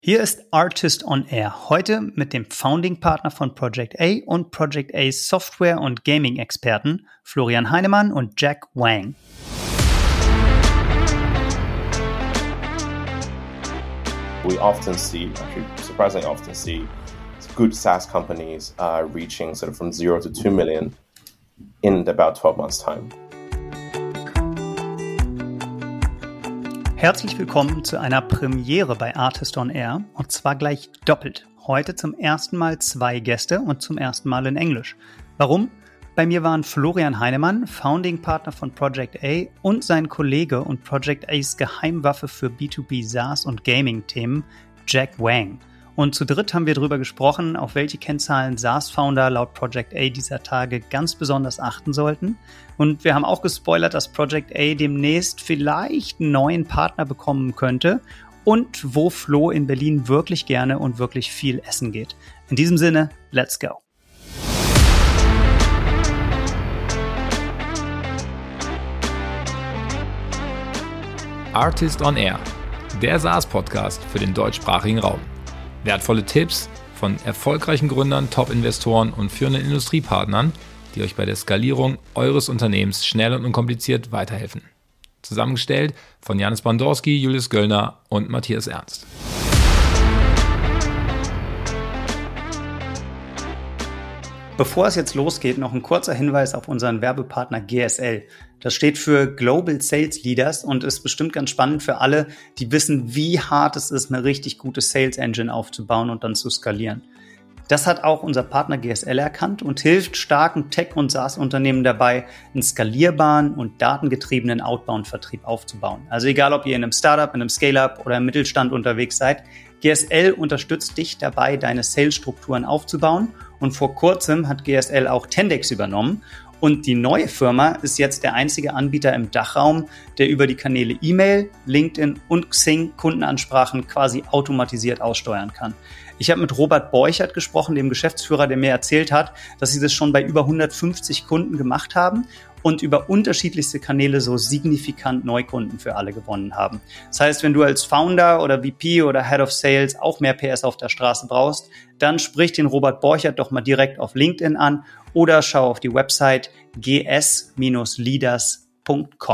Hier ist Artist on Air, heute mit dem Founding-Partner von Project A und Project A's Software- und Gaming-Experten Florian Heinemann und Jack Wang. We often see, actually surprisingly often see, good SaaS companies reaching sort of from 0 to 2 million in about 12 months' time. Herzlich willkommen zu einer Premiere bei Artist on Air und zwar gleich doppelt. Heute zum ersten Mal 2 Gäste und zum ersten Mal in Englisch. Warum? Bei mir waren Florian Heinemann, Founding-Partner von Project A und sein Kollege und Project A's Geheimwaffe für B2B SaaS und Gaming-Themen, Jack Wang. Und zu dritt haben wir darüber gesprochen, auf welche Kennzahlen SaaS-Founder laut Project A dieser Tage ganz besonders achten sollten. Und wir haben auch gespoilert, dass Project A demnächst vielleicht einen neuen Partner bekommen könnte und wo Flo in Berlin wirklich gerne und wirklich viel essen geht. In diesem Sinne, let's go! Artist on Air, der SaaS-Podcast für den deutschsprachigen Raum. Wertvolle Tipps von erfolgreichen Gründern, Top-Investoren und führenden Industriepartnern, die euch bei der Skalierung eures Unternehmens schnell und unkompliziert weiterhelfen. Zusammengestellt von Janis Bandorski, Julius Göllner und Matthias Ernst. Bevor es jetzt losgeht, noch ein kurzer Hinweis auf unseren Werbepartner GSL. Das steht für Global Sales Leaders und ist bestimmt ganz spannend für alle, die wissen, wie hart es ist, eine richtig gute Sales Engine aufzubauen und dann zu skalieren. Das hat auch unser Partner GSL erkannt und hilft starken Tech- und SaaS-Unternehmen dabei, einen skalierbaren und datengetriebenen Outbound-Vertrieb aufzubauen. Also egal, ob ihr in einem Startup, in einem Scale-Up oder im Mittelstand unterwegs seid, GSL unterstützt dich dabei, deine Sales-Strukturen aufzubauen. Und vor kurzem hat GSL auch Tendex übernommen. Und die neue Firma ist jetzt der einzige Anbieter im Dachraum, der über die Kanäle E-Mail, LinkedIn und Xing Kundenansprachen quasi automatisiert aussteuern kann. Ich habe mit Robert Borchert gesprochen, dem Geschäftsführer, der mir erzählt hat, dass sie das schon bei über 150 Kunden gemacht haben und über unterschiedlichste Kanäle so signifikant Neukunden für alle gewonnen haben. Das heißt, wenn du als Founder oder VP oder Head of Sales auch mehr PS auf der Straße brauchst, dann sprich den Robert Borchert doch mal direkt auf LinkedIn an oder schau auf die Website gs-leaders.com.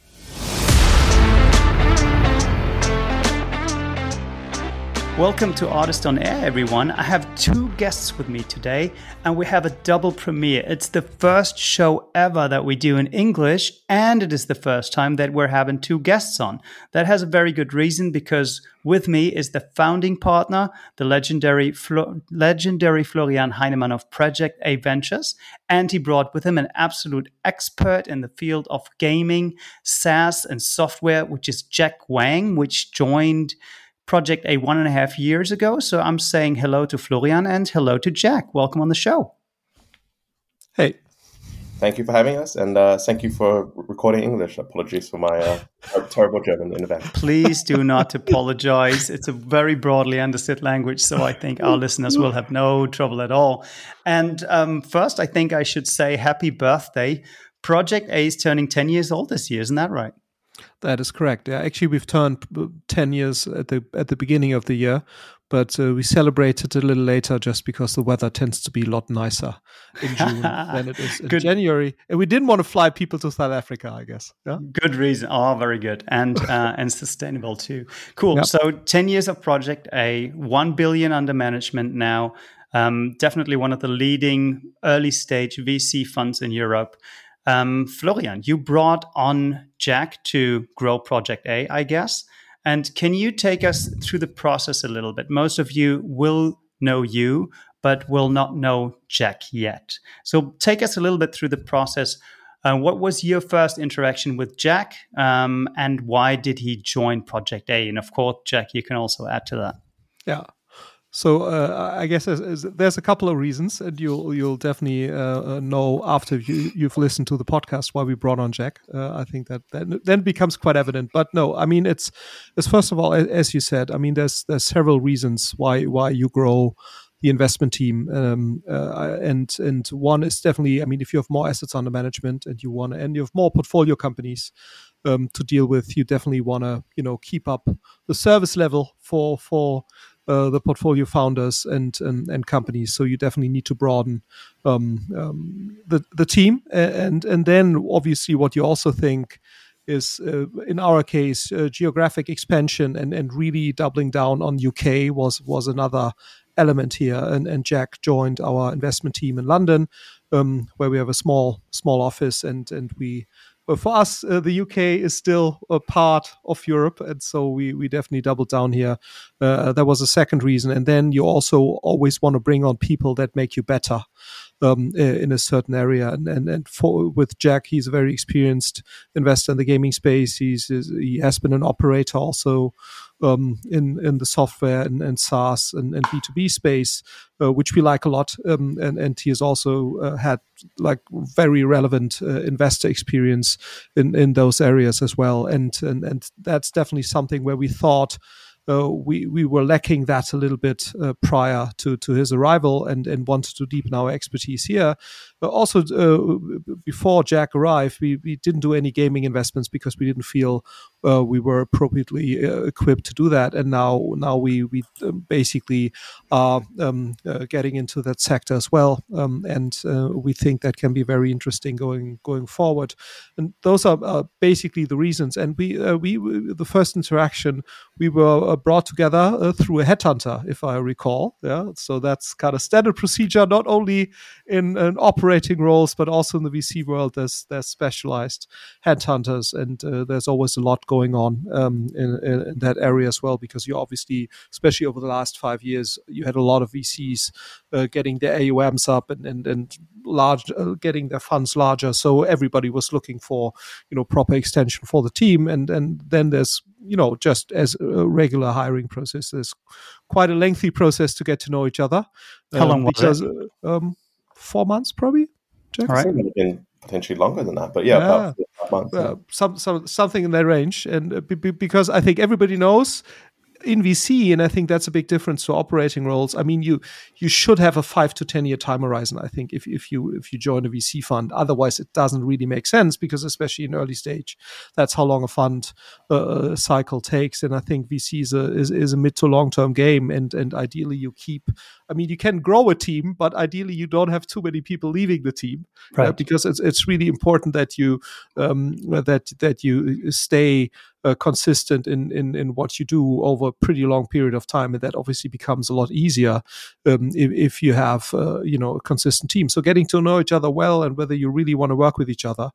Welcome to Artist on Air, everyone. I have 2 guests with me today, and we have a double premiere. It's the first show ever that we do in English, and it is the first time that we're having 2 guests on. That has a very good reason, because with me is the founding partner, the legendary Florian Heinemann of Project A Ventures, and he brought with him an absolute expert in the field of gaming, SaaS, and software, which is Jack Wang, which joined Project A 1.5 years ago. So I'm saying hello to Florian and hello to Jack. Welcome on the show. Hey. Thank you for having us, and thank you for recording English. Apologies for my terrible German in advance. Please do not apologize. It's a very broadly understood language, so I think our listeners will have no trouble at all. And first, I think I should say happy birthday. Project A is turning 10 years old this year, isn't that right? That is correct. Yeah, actually, we've turned 10 years at the beginning of the year, but we celebrated a little later just because the weather tends to be a lot nicer in June than it is in January. And we didn't want to fly people to South Africa, I guess. Yeah? Good reason. Oh, very good. And and sustainable too. Cool. Yep. So 10 years of Project A, 1 billion under management now. Definitely one of the leading early stage VC funds in Europe. Florian, you brought on Jack to grow Project A, I guess. And can you take us through the process a little bit? Most of you will know you, but will not know Jack yet. So take us a little bit through the process. What was your first interaction with Jack, and why did he join Project A? And of course, Jack, you can also add to that. Yeah. So I guess there's a couple of reasons, and you'll definitely know after you've listened to the podcast why we brought on Jack. I think that then becomes quite evident. But no, I mean it's first of all, as you said, I mean there's several reasons why you grow the investment team, and one is definitely, I mean, if you have more assets under management and you have more portfolio companies, to deal with. You definitely want to, keep up the service level for the portfolio founders and companies. So you definitely need to broaden the team, and then obviously what you also think is, in our case, geographic expansion and really doubling down on UK was another element here. And Jack joined our investment team in London, where we have a small office, and we. But for us, the UK is still a part of Europe, and so we definitely doubled down here. That was a second reason, and then you also always want to bring on people that make you better in a certain area. And with Jack, he's a very experienced investor in the gaming space. He has been an operator also in the software and SaaS and B2B space, which we like a lot. And he has also had like very relevant investor experience in those areas as well. And that's definitely something where we thought we were lacking that a little bit prior to his arrival, and wanted to deepen our expertise here. But also, before Jack arrived, we didn't do any gaming investments because we didn't feel we were appropriately equipped to do that. And now we basically are getting into that sector as well, and we think that can be very interesting going forward. And those are basically the reasons. And we the first interaction, we were brought together through a headhunter, if I recall. Yeah, so that's kind of standard procedure, not only in operating roles, but also in the VC world. There's specialized headhunters, and there's always a lot going on in that area as well, because you obviously, especially over the last 5 years, you had a lot of VCs getting their AUMs up and large, getting their funds larger. So everybody was looking for proper extension for the team, and then there's just as a regular hiring process, there's quite a lengthy process to get to know each other. How long was it? 4 months, probably. Jack? All right. It would have been potentially longer than that, but about 4 months. Something in that range, and because I think everybody knows in VC, and I think that's a big difference to operating roles. I mean, you should have a 5 to 10 year time horizon, I think, if you join a VC fund. Otherwise, it doesn't really make sense, because especially in early stage, that's how long a fund cycle takes. And I think VC is a mid to long term game, and ideally you keep. I mean, you can grow a team, but ideally you don't have too many people leaving the team, right? Because it's really important that you that you stay consistent in what you do over a pretty long period of time, and that obviously becomes a lot easier if you have a consistent team. So getting to know each other well, and whether you really want to work with each other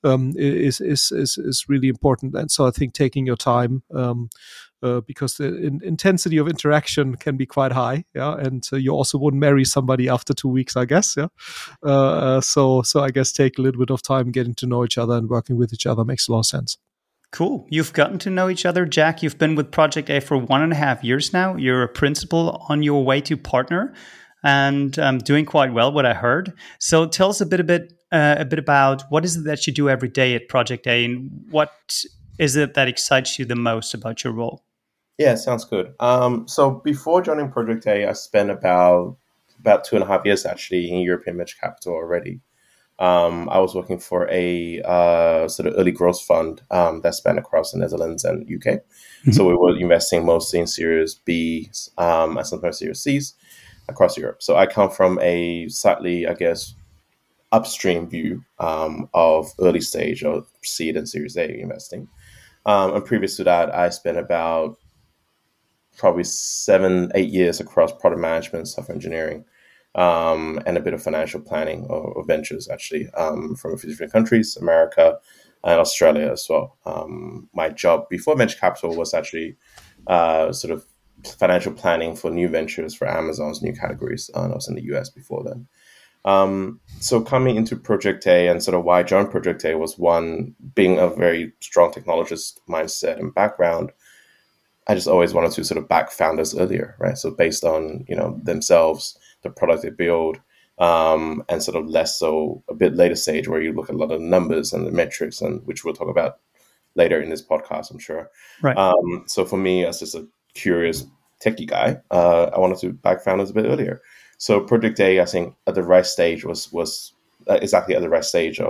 is really important. And so I think taking your time. Because the intensity of interaction can be quite high, and you also wouldn't marry somebody after 2 weeks, I guess, So I guess take a little bit of time getting to know each other and working with each other makes a lot of sense. Cool. You've gotten to know each other, Jack. You've been with Project A for 1.5 years now. You're a principal on your way to partner, and doing quite well, what I heard. So tell us a bit about what is it that you do every day at Project A, and what is it that excites you the most about your role? Yeah, sounds good. So before joining Project A, I spent about 2.5 years actually in European venture capital already. I was working for a sort of early growth fund that spanned across the Netherlands and UK. Mm-hmm. So we were investing mostly in Series B and sometimes Series Cs across Europe. So I come from a slightly, I guess, upstream view of early stage of seed and Series A investing. And previous to that, I spent about probably 7-8 years across product management, software engineering, and a bit of financial planning or ventures, actually, from a few different countries, America and Australia as well. My job before venture capital was actually sort of financial planning for new ventures for Amazon's new categories. And I was in the US before then. So coming into Project A, and sort of why I joined Project A was, one, being a very strong technologist mindset and background, I just always wanted to sort of back founders earlier, right? So based on, themselves, the product they build, and sort of less so a bit later stage where you look at a lot of the numbers and the metrics, and which we'll talk about later in this podcast, I'm sure. Right. So for me, as just a curious techie guy, I wanted to back founders a bit earlier. So Project A, I think, at the right stage was exactly at the right stage of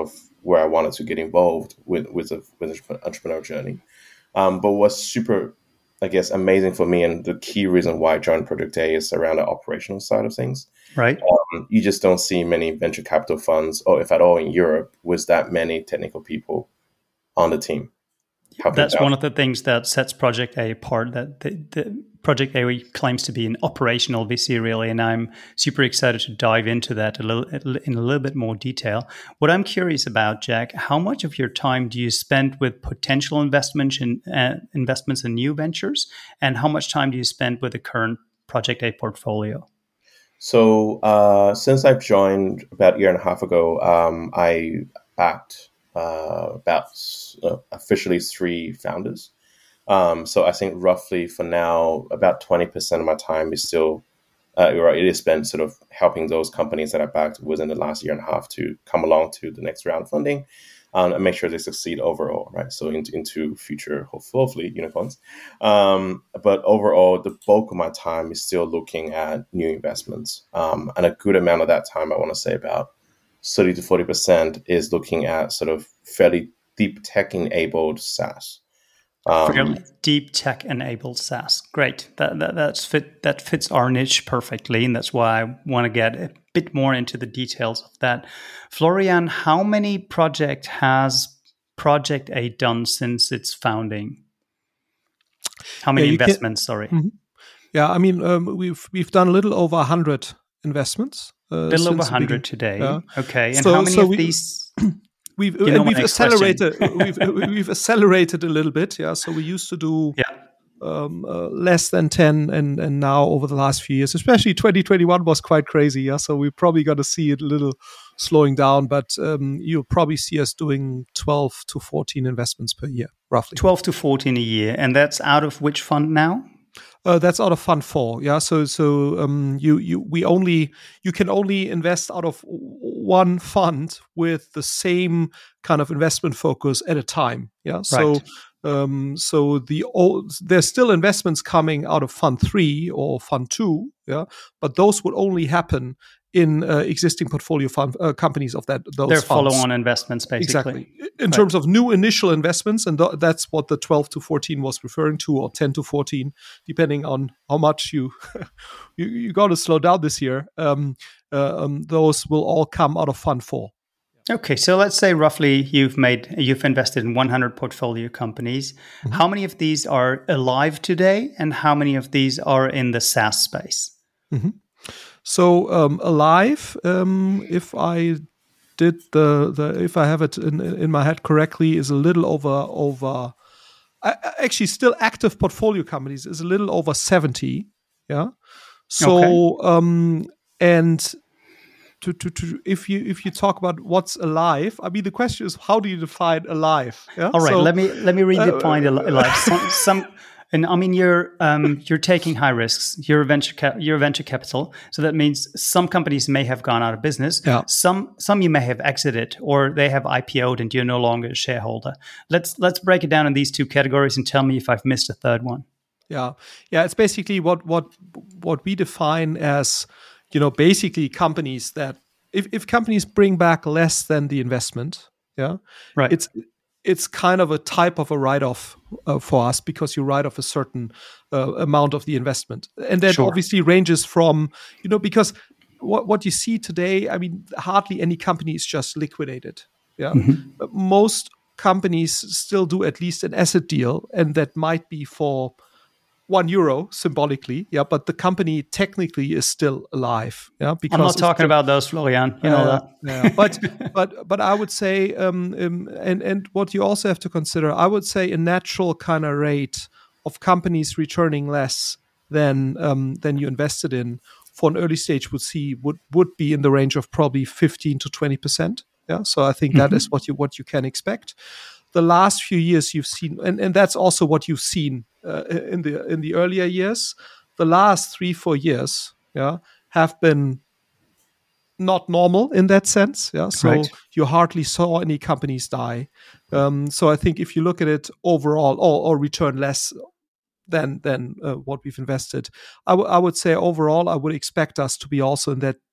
where I wanted to get involved with the entrepreneurial journey. But what's super, I guess, amazing for me, and the key reason why I joined Project A is around the operational side of things. Right. You just don't see many venture capital funds, or if at all in Europe, with that many technical people on the team. That's one of the things that sets Project A apart, that the Project A claims to be an operational VC, really, and I'm super excited to dive into that in a little bit more detail. What I'm curious about, Jack, how much of your time do you spend with potential investments in new ventures, and how much time do you spend with the current Project A portfolio? So since I've joined about a year and a half ago, I backed about officially 3 founders. So I think roughly for now, about 20% of my time is still, it is spent sort of helping those companies that I backed within the last year and a half to come along to the next round of funding and make sure they succeed overall, right? So into future, hopefully, unicorns. But overall, the bulk of my time is still looking at new investments. And a good amount of that time, I want to say about 30 to 40% is looking at sort of fairly deep tech-enabled SaaS. Fairly deep tech-enabled SaaS. Great. That fits our niche perfectly, and that's why I want to get a bit more into the details of that. Florian, how many projects has Project A done since its founding? How many investments? Sorry. Mm-hmm. Yeah, I mean, we've done a little over 100 investments. A little over 100 today. Yeah. Okay, and so, how many of these? We've accelerated. we've accelerated a little bit. Yeah. So we used to do less than 10, and now over the last few years, especially 2021 was quite crazy. Yeah. So we're probably going to see it a little slowing down, but you'll probably see us doing 12 to 14 investments per year, roughly. 12 to 14 a year, and that's out of which fund now? That's out of Fund 4. Yeah, so you can only invest out of one fund with the same kind of investment focus at a time. Yeah, so there's still investments coming out of Fund 3 or Fund 2. Yeah, but those would only happen in existing portfolio fund companies of those They're funds. Follow-on investments, basically. Exactly. In terms of new initial investments, and that's what the 12 to 14 was referring to, or 10 to 14, depending on how much you got to slow down this year. Those will all come out of Fund 4. Okay, so let's say roughly you've invested in 100 portfolio companies. Mm-hmm. How many of these are alive today, and how many of these are in the SaaS space? Mm-hmm. So alive, if I did if I have it in my head correctly, is a little over. Actually, still active portfolio companies is a little over 70. Yeah. So and to if you talk about what's alive, I mean the question is, how do you define alive? Yeah? All right. So, let me redefine alive. And I mean, you're taking high risks. You're venture capital, so that means some companies may have gone out of business. Yeah. Some you may have exited, or they have IPO'd, and you're no longer a shareholder. Let's break it down in these two categories and tell me if I've missed a third one. Yeah. It's basically what we define as, basically companies that if companies bring back less than the investment, yeah, right. It's kind of a type of a write-off for us, because you write off a certain amount of the investment. And that obviously ranges from, because what you see today, I mean, hardly any company is just liquidated. Yeah. Mm-hmm. But most companies still do at least an asset deal, and that might be for €1 symbolically, but the company technically is still alive. Yeah, because I'm not talking about those, Florian. You know that. Yeah. But I would say, and what you also have to consider, I would say a natural kind of rate of companies returning less than you invested in for an early stage would be in the range of probably 15 to 20%. Yeah, so I think that is what you can expect. The last few years you've seen, and that's also what you've seen in the earlier years. The last 3-4 years, have been not normal in that sense. Yeah, so you hardly saw any companies die. So I think if you look at it overall, or return less than what we've invested, I would say overall I would expect us to be also in that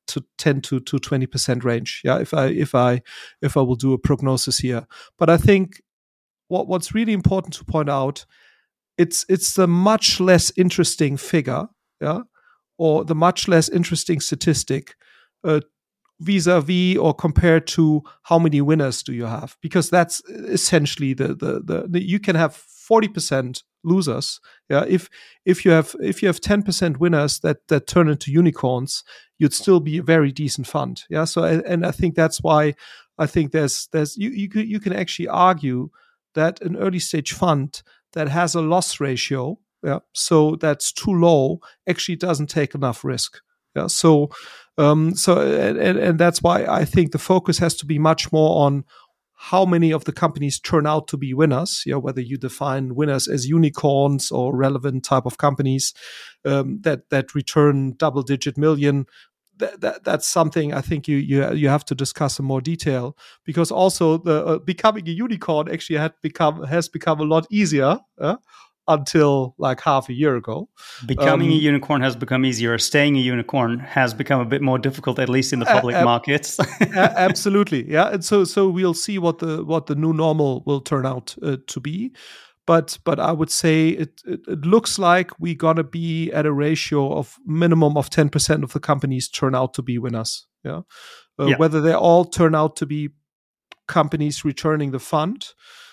to 10 to 20% range. Yeah, if I will do a prognosis here. But I think what's really important to point out, it's the much less interesting figure, yeah, or the much less interesting statistic vis-a-vis or compared to how many winners do you have, because that's essentially the you can have 40% losers. Yeah, if you have 10% winners that turn into unicorns, you'd still be a very decent fund. Yeah, so and I think that's why I think there's you can actually argue that an early stage fund that has a loss ratio, yeah, so that's too low, actually doesn't take enough risk. Yeah, so that's why I think the focus has to be much more on how many of the companies turn out to be winners. Yeah, whether you define winners as unicorns or relevant type of companies that return double-digit million. That's something I think you have to discuss in more detail, because also the becoming a unicorn actually has become a lot easier until like half a year ago. Becoming a unicorn has become easier. Staying a unicorn has become a bit more difficult, at least in the public markets. Absolutely, yeah. And so we'll see what the new normal will turn out to be. But I would say it looks like we're gonna be at a ratio of minimum of 10% of the companies turn out to be winners. Yeah, whether they all turn out to be companies returning the fund,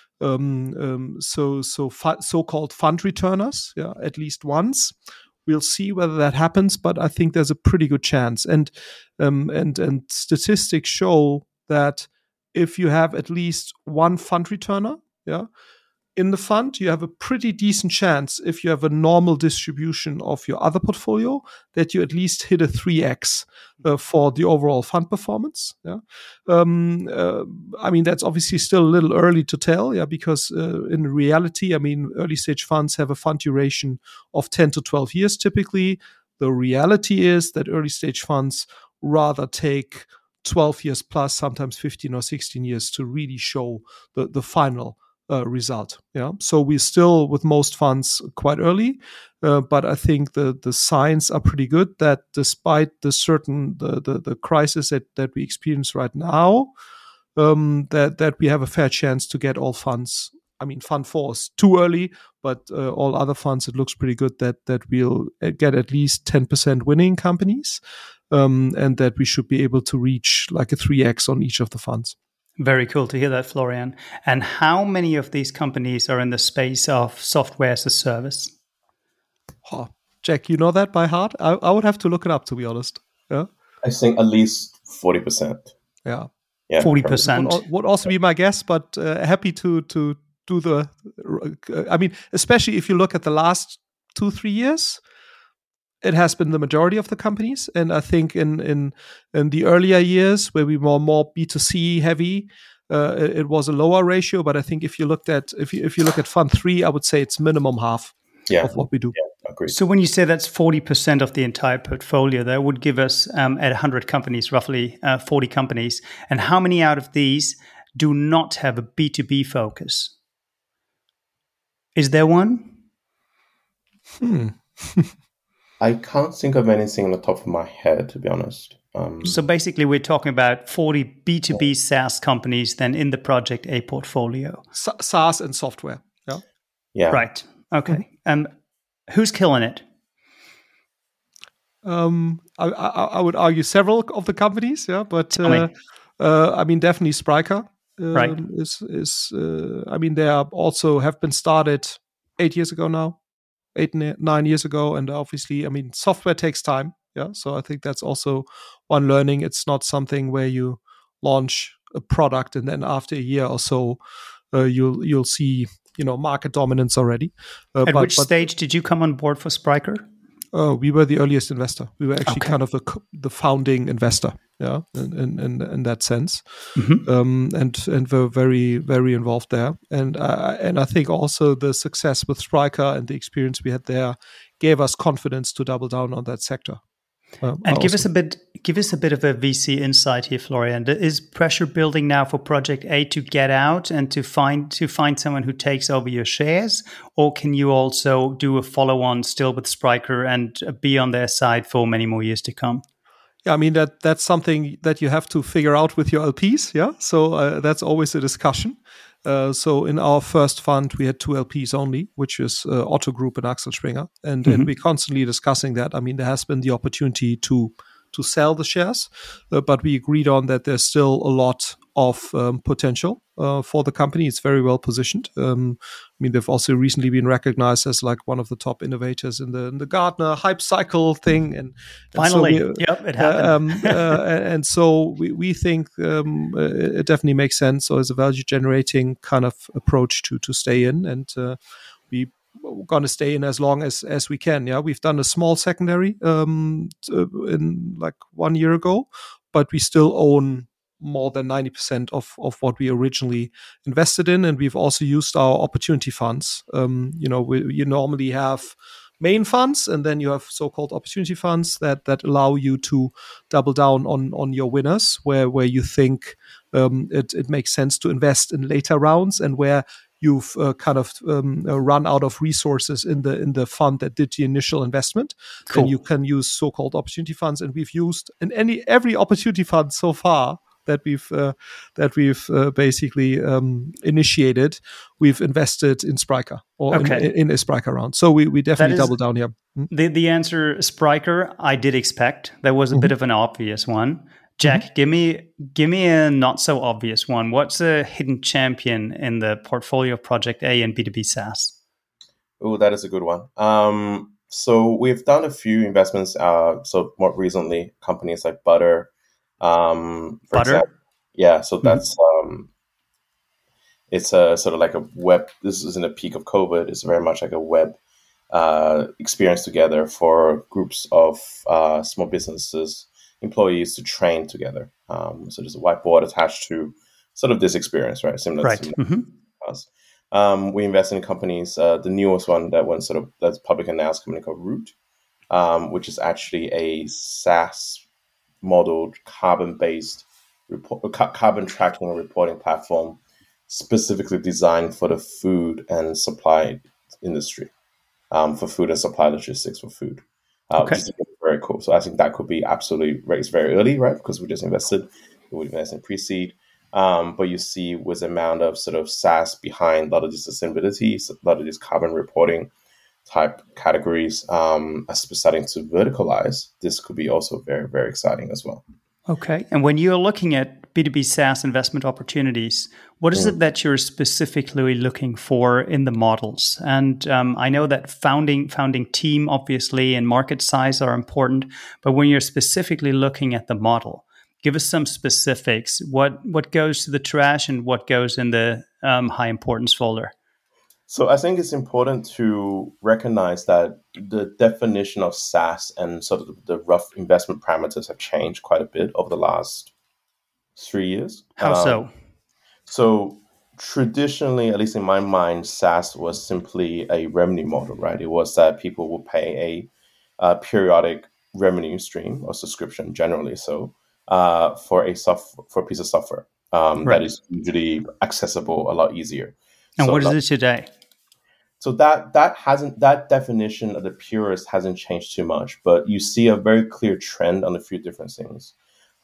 so-called fund returners, yeah, at least once. We'll see whether that happens, but I think there's a pretty good chance. And statistics show that if you have at least one fund returner, yeah, in the fund, you have a pretty decent chance, if you have a normal distribution of your other portfolio, that you at least hit a 3x for the overall fund performance. Yeah, I mean, that's obviously still a little early to tell. Yeah, because in reality, I mean, early stage funds have a fund duration of 10 to 12 years typically. The reality is that early stage funds rather take 12 years plus, sometimes 15 or 16 years to really show the final result. Yeah, so we're still with most funds quite early, but I think the signs are pretty good that despite the crisis that we experience right now, that we have a fair chance to get all funds. I mean, Fund 4 is too early, but all other funds, it looks pretty good that we'll get at least 10% winning companies, and that we should be able to reach like a 3x on each of the funds. Very cool to hear that, Florian. And how many of these companies are in the space of software as a service? Oh, Jack, you know that by heart? I would have to look it up, to be honest. Yeah, I think at least 40%. Yeah, 40% would also be my guess, but happy to do the. I mean, especially if you look at the last 2-3 years. It has been the majority of the companies, and I think in the earlier years where we were more B2C heavy, it was a lower ratio. But I think if you look at Fund 3, I would say it's minimum half of what we do. Yeah, agreed. So when you say that's 40% of the entire portfolio, that would give us at 100 companies, roughly 40 companies. And how many out of these do not have a B2B focus? Is there one? I can't think of anything on the top of my head, to be honest. So basically, we're talking about 40 B2B SaaS companies then in the Project A portfolio. SaaS and software. Yeah. Yeah. Right. Okay. Who's killing it? I would argue several of the companies. Yeah, but I mean, definitely Spryker. Right. I mean, they also have been started 8 years ago now. 8-9 years ago, and obviously, I mean, software takes time. Yeah, so I think that's also one learning. It's not something where you launch a product and then after a year or so, you'll see market dominance already. At which stage did you come on board for Spryker? We were the earliest investor. We were actually kind of the founding investor. Yeah, in that sense, and we're very, very involved there. And I think also the success with Spryker and the experience we had there gave us confidence to double down on that sector. And give us a bit of a VC insight here, Florian. Is pressure building now for Project A to get out and to find someone who takes over your shares, or can you also do a follow-on still with Spryker and be on their side for many more years to come? Yeah, I mean that's something that you have to figure out with your LPs. Yeah, so that's always a discussion. So in our first fund, we had 2 LPs only, which is Otto Group and Axel Springer, and we're constantly discussing that. I mean, there has been the opportunity to sell the shares, but we agreed on that there's still a lot of potential for the company. It's very well positioned. I mean, they've also recently been recognized as like one of the top innovators in the Gartner hype cycle thing. And finally, so it happened. and so we think it definitely makes sense. So it's a value generating kind of approach to stay in, and we're going to stay in as long as we can. Yeah, we've done a small secondary in like 1 year ago, but we still own more than 90% of what we originally invested in. And we've also used our opportunity funds. You normally have main funds, and then you have so-called opportunity funds that allow you to double down on your winners, where you think it makes sense to invest in later rounds, and where you've kind of run out of resources in the fund that did the initial investment. Cool. Then you can use so-called opportunity funds, and we've used in every opportunity fund so far that we've basically initiated, we've invested in Spryker or in a Spryker round. So we definitely double down here. The answer Spryker, I did expect. That was a bit of an obvious one. Jack, give me a not so obvious one. What's a hidden champion in the portfolio of Project A and B2B SaaS? Oh, that is a good one. So we've done a few investments. So more recently, companies like Butter. For example, yeah. So that's it's a sort of like a web. This is in the peak of COVID. It's very much like a web experience together for groups of small businesses, employees to train together. So there's a whiteboard attached to sort of this experience, right? Similar to us. We invest in companies. The newest one that's public announced, company called Root, which is actually a SaaS modeled carbon-based carbon tracking and reporting platform specifically designed for the food and supply industry, for food and supply logistics for food. Which is very cool. So I think that could be absolutely right. It's very early, right? Because we just invested. We invest in pre-seed. But you see with the amount of sort of SaaS behind a lot of this sustainability, a lot of these carbon reporting type categories, as we're starting to verticalize, this could be also very, very exciting as well. Okay. And when you're looking at B2B SaaS investment opportunities, what is it that you're specifically looking for in the models? And I know that founding team, obviously, and market size are important, but when you're specifically looking at the model, give us some specifics. What goes to the trash and what goes in the high importance folder? So I think it's important to recognize that the definition of SaaS and sort of the rough investment parameters have changed quite a bit over the last 3 years. How so? So traditionally, at least in my mind, SaaS was simply a revenue model, right? It was that people would pay a periodic revenue stream or subscription, generally so, for a piece of software that is usually accessible a lot easier. And what is it today? So that definition of the purist hasn't changed too much, but you see a very clear trend on a few different things.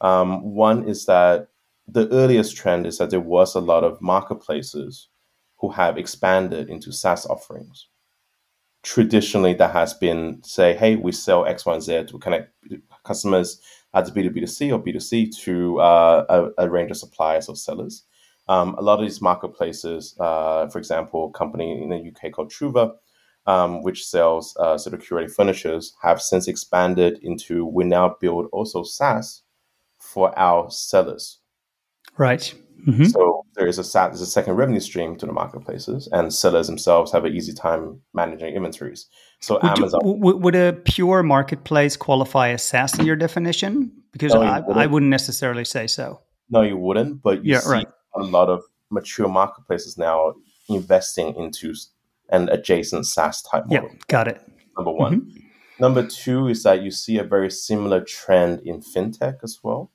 One is that the earliest trend is that there was a lot of marketplaces who have expanded into SaaS offerings. Traditionally, that has been, say, hey, we sell X, Y, and Z to connect customers as B2B2C or B2C to a range of suppliers or sellers. A lot of these marketplaces, for example, a company in the UK called Truva, which sells sort of curated furnitures, have since expanded into, we now build also SaaS for our sellers. Right. Mm-hmm. So there's a second revenue stream to the marketplaces, and sellers themselves have an easy time managing inventories. So would a pure marketplace qualify as SaaS in your definition? Because I wouldn't necessarily say so. No, you wouldn't, but you see a lot of mature marketplaces now investing into an adjacent SaaS type model. Yeah, got it. Number one. Mm-hmm. Number two is that you see a very similar trend in fintech as well.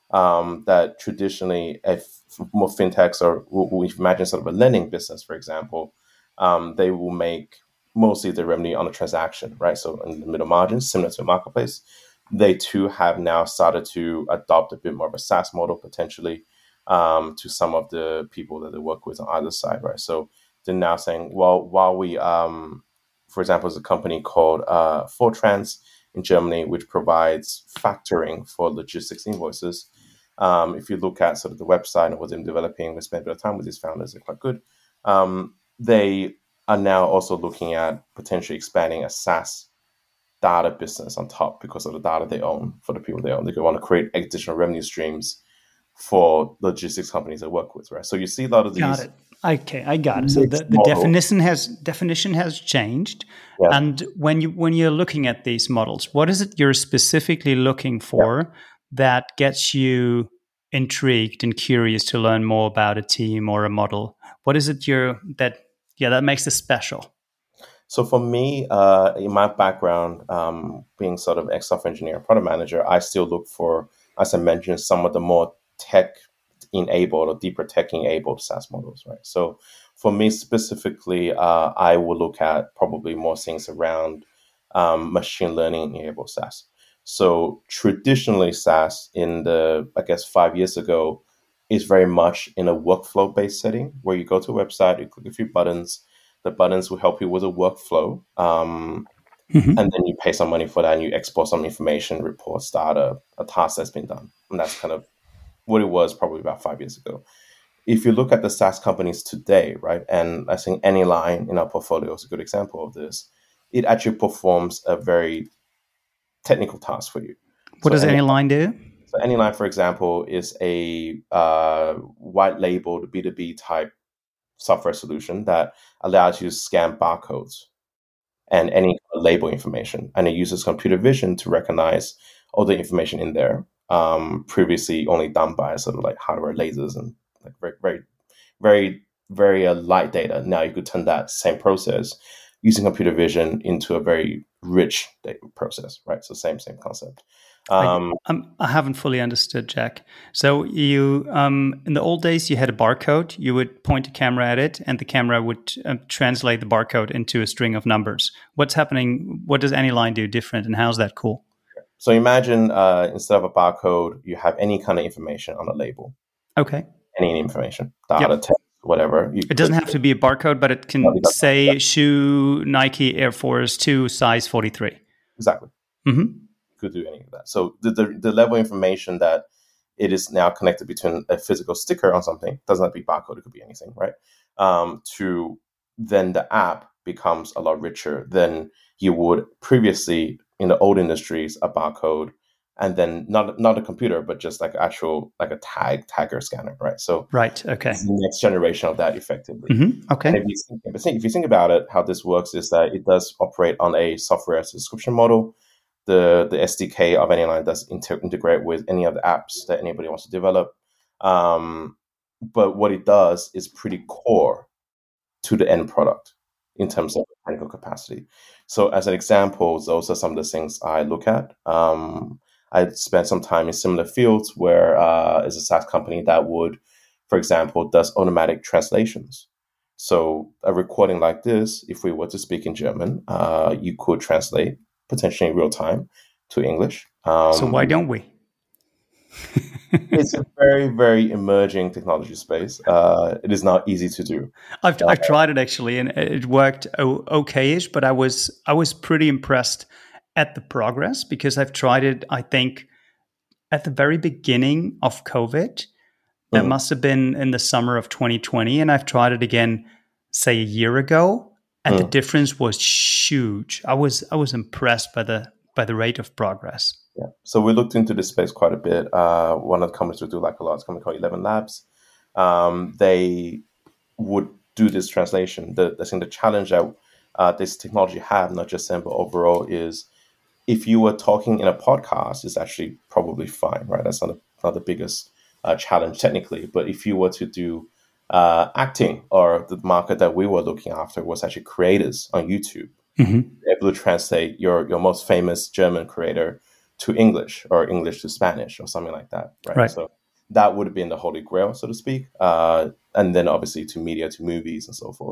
That traditionally, if more fintechs or we imagine sort of a lending business, for example, they will make mostly the revenue on a transaction, right? So in the middle margin, similar to a marketplace. they too have now started to adopt a bit more of a SaaS model potentially to some of the people that they work with on either side, right? So they're now saying, well, while we, for example, there's a company called Fortrans in Germany, which provides factoring for logistics invoices. If you look at sort of the website and what they're developing, we spent a bit of time with these founders, they're quite good. They are now also looking at potentially expanding a SaaS data business on top because of the data they own for the people they own. They want to create additional revenue streams for logistics companies they work with, right? So you see a lot of these. Got it. Okay, I got it. So the definition has changed. Yeah. And when you're looking at these models, what is it you're specifically looking for that gets you intrigued and curious to learn more about a team or a model? What is it that makes it special? So for me, in my background, being sort of ex-software engineer, product manager, I still look for, as I mentioned, some of the more tech-enabled or deeper tech-enabled SaaS models, right? So for me specifically, I will look at probably more things around machine learning-enabled SaaS. So traditionally, SaaS in 5 years ago, is very much in a workflow-based setting where you go to a website, you click a few buttons, the buttons will help you with a workflow, and then you pay some money for that and you export some information, reports, data, a task that's been done. And that's kind of what it was probably about 5 years ago. If you look at the SaaS companies today, right, and I think Anyline in our portfolio is a good example of this, it actually performs a very technical task for you. What does Anyline do? So Anyline, for example, is a white-labeled B2B type software solution that allows you to scan barcodes and any label information, and it uses computer vision to recognize all the information in there. Previously, only done by sort of like hardware lasers and like very, very, very, very light data. Now you could turn that same process using computer vision into a very rich data process, right? So same concept. I haven't fully understood, Jack. So you, in the old days, you had a barcode. You would point a camera at it, and the camera would translate the barcode into a string of numbers. What's happening? What does Anyline do different, and how's that cool? So imagine instead of a barcode, you have any kind of information on the label. Okay. Any information, data, text, whatever. It doesn't have to be a barcode, but it can say shoe Nike Air Force 2 size 43. Exactly. Mm-hmm. Could do any of that. So the level of information that it is now connected between a physical sticker on something, doesn't have to be barcode, it could be anything, right? To then the app becomes a lot richer than you would previously in the old industries, a barcode, and then not a computer, but just like actual, like a tagger scanner, right? So right, okay. It's the next generation of that effectively. Mm-hmm. Okay. And if you think about it, how this works is that it does operate on a software subscription model. The SDK of Anyline does integrate with any of the apps that anybody wants to develop. But what it does is pretty core to the end product in terms of technical capacity. So as an example, those are some of the things I look at. I spent some time in similar fields where is a SaaS company that would, for example, does automatic translations. So a recording like this, if we were to speak in German, you could translate potentially in real time to English. So why don't we? It's a very, very emerging technology space. It is not easy to do. I've tried it actually, and it worked okay-ish, but I was pretty impressed at the progress because I've tried it, I think, at the very beginning of COVID. That must have been in the summer of 2020, and I've tried it again, say, a year ago. And the difference was huge. I was impressed by the rate of progress. Yeah. So we looked into this space quite a bit. One of the companies we do like a lot is a company called 11 Labs. They would do this translation. I think the challenge that this technology have, not just them, but overall, is if you were talking in a podcast, it's actually probably fine, right? That's not the biggest challenge technically. But if you were to do acting, or the market that we were looking after was actually creators on YouTube, able to translate your most famous German creator to English or English to Spanish or something like that, right? So that would have been the holy grail, so to speak. And then obviously to media, to movies and so forth.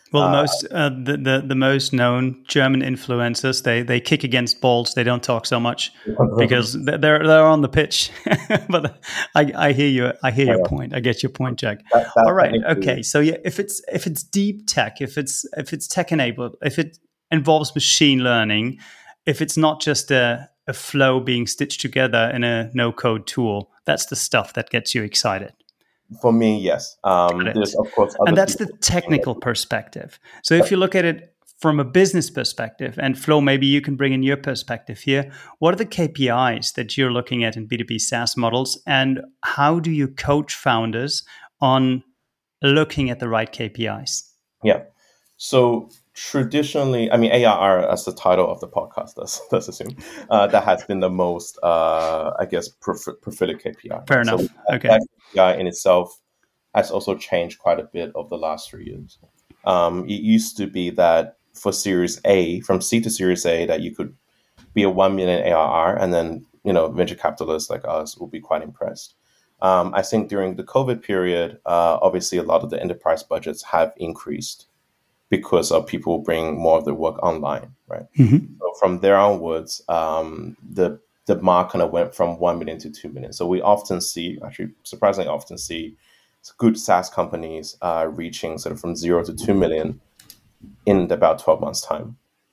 Well, the most known German influencers, they kick against balls. They don't talk so much because they're on the pitch. But I hear you. I hear your point. I get your point, Jack. All right. Okay. So yeah, if it's deep tech, if it's tech enabled, if it involves machine learning, if it's not just a flow being stitched together in a no code tool, that's the stuff that gets you excited. For me, yes. There's, of course, and that's the technical perspective. So if you look at it from a business perspective, and Flo, maybe you can bring in your perspective here. What are the KPIs that you're looking at in B2B SaaS models, and how do you coach founders on looking at the right KPIs? Yeah. So traditionally, I mean, ARR, as the title of the podcast does assume, that has been the most, I guess, preferred KPI. Fair enough. So okay. That KPI in itself has also changed quite a bit over the last 3 years. It used to be that for Series A, from C to Series A, that you could be a 1 million ARR, and then venture capitalists like us will be quite impressed. I think during the COVID period, obviously a lot of the enterprise budgets have increased because of people bringing more of their work online, right? Mm-hmm. So from there onwards, the mark kind of went from 1 million to 2 million. So we often see, actually surprisingly often see, good SaaS companies reaching sort of from 0 to 2 million in about 12 months' time.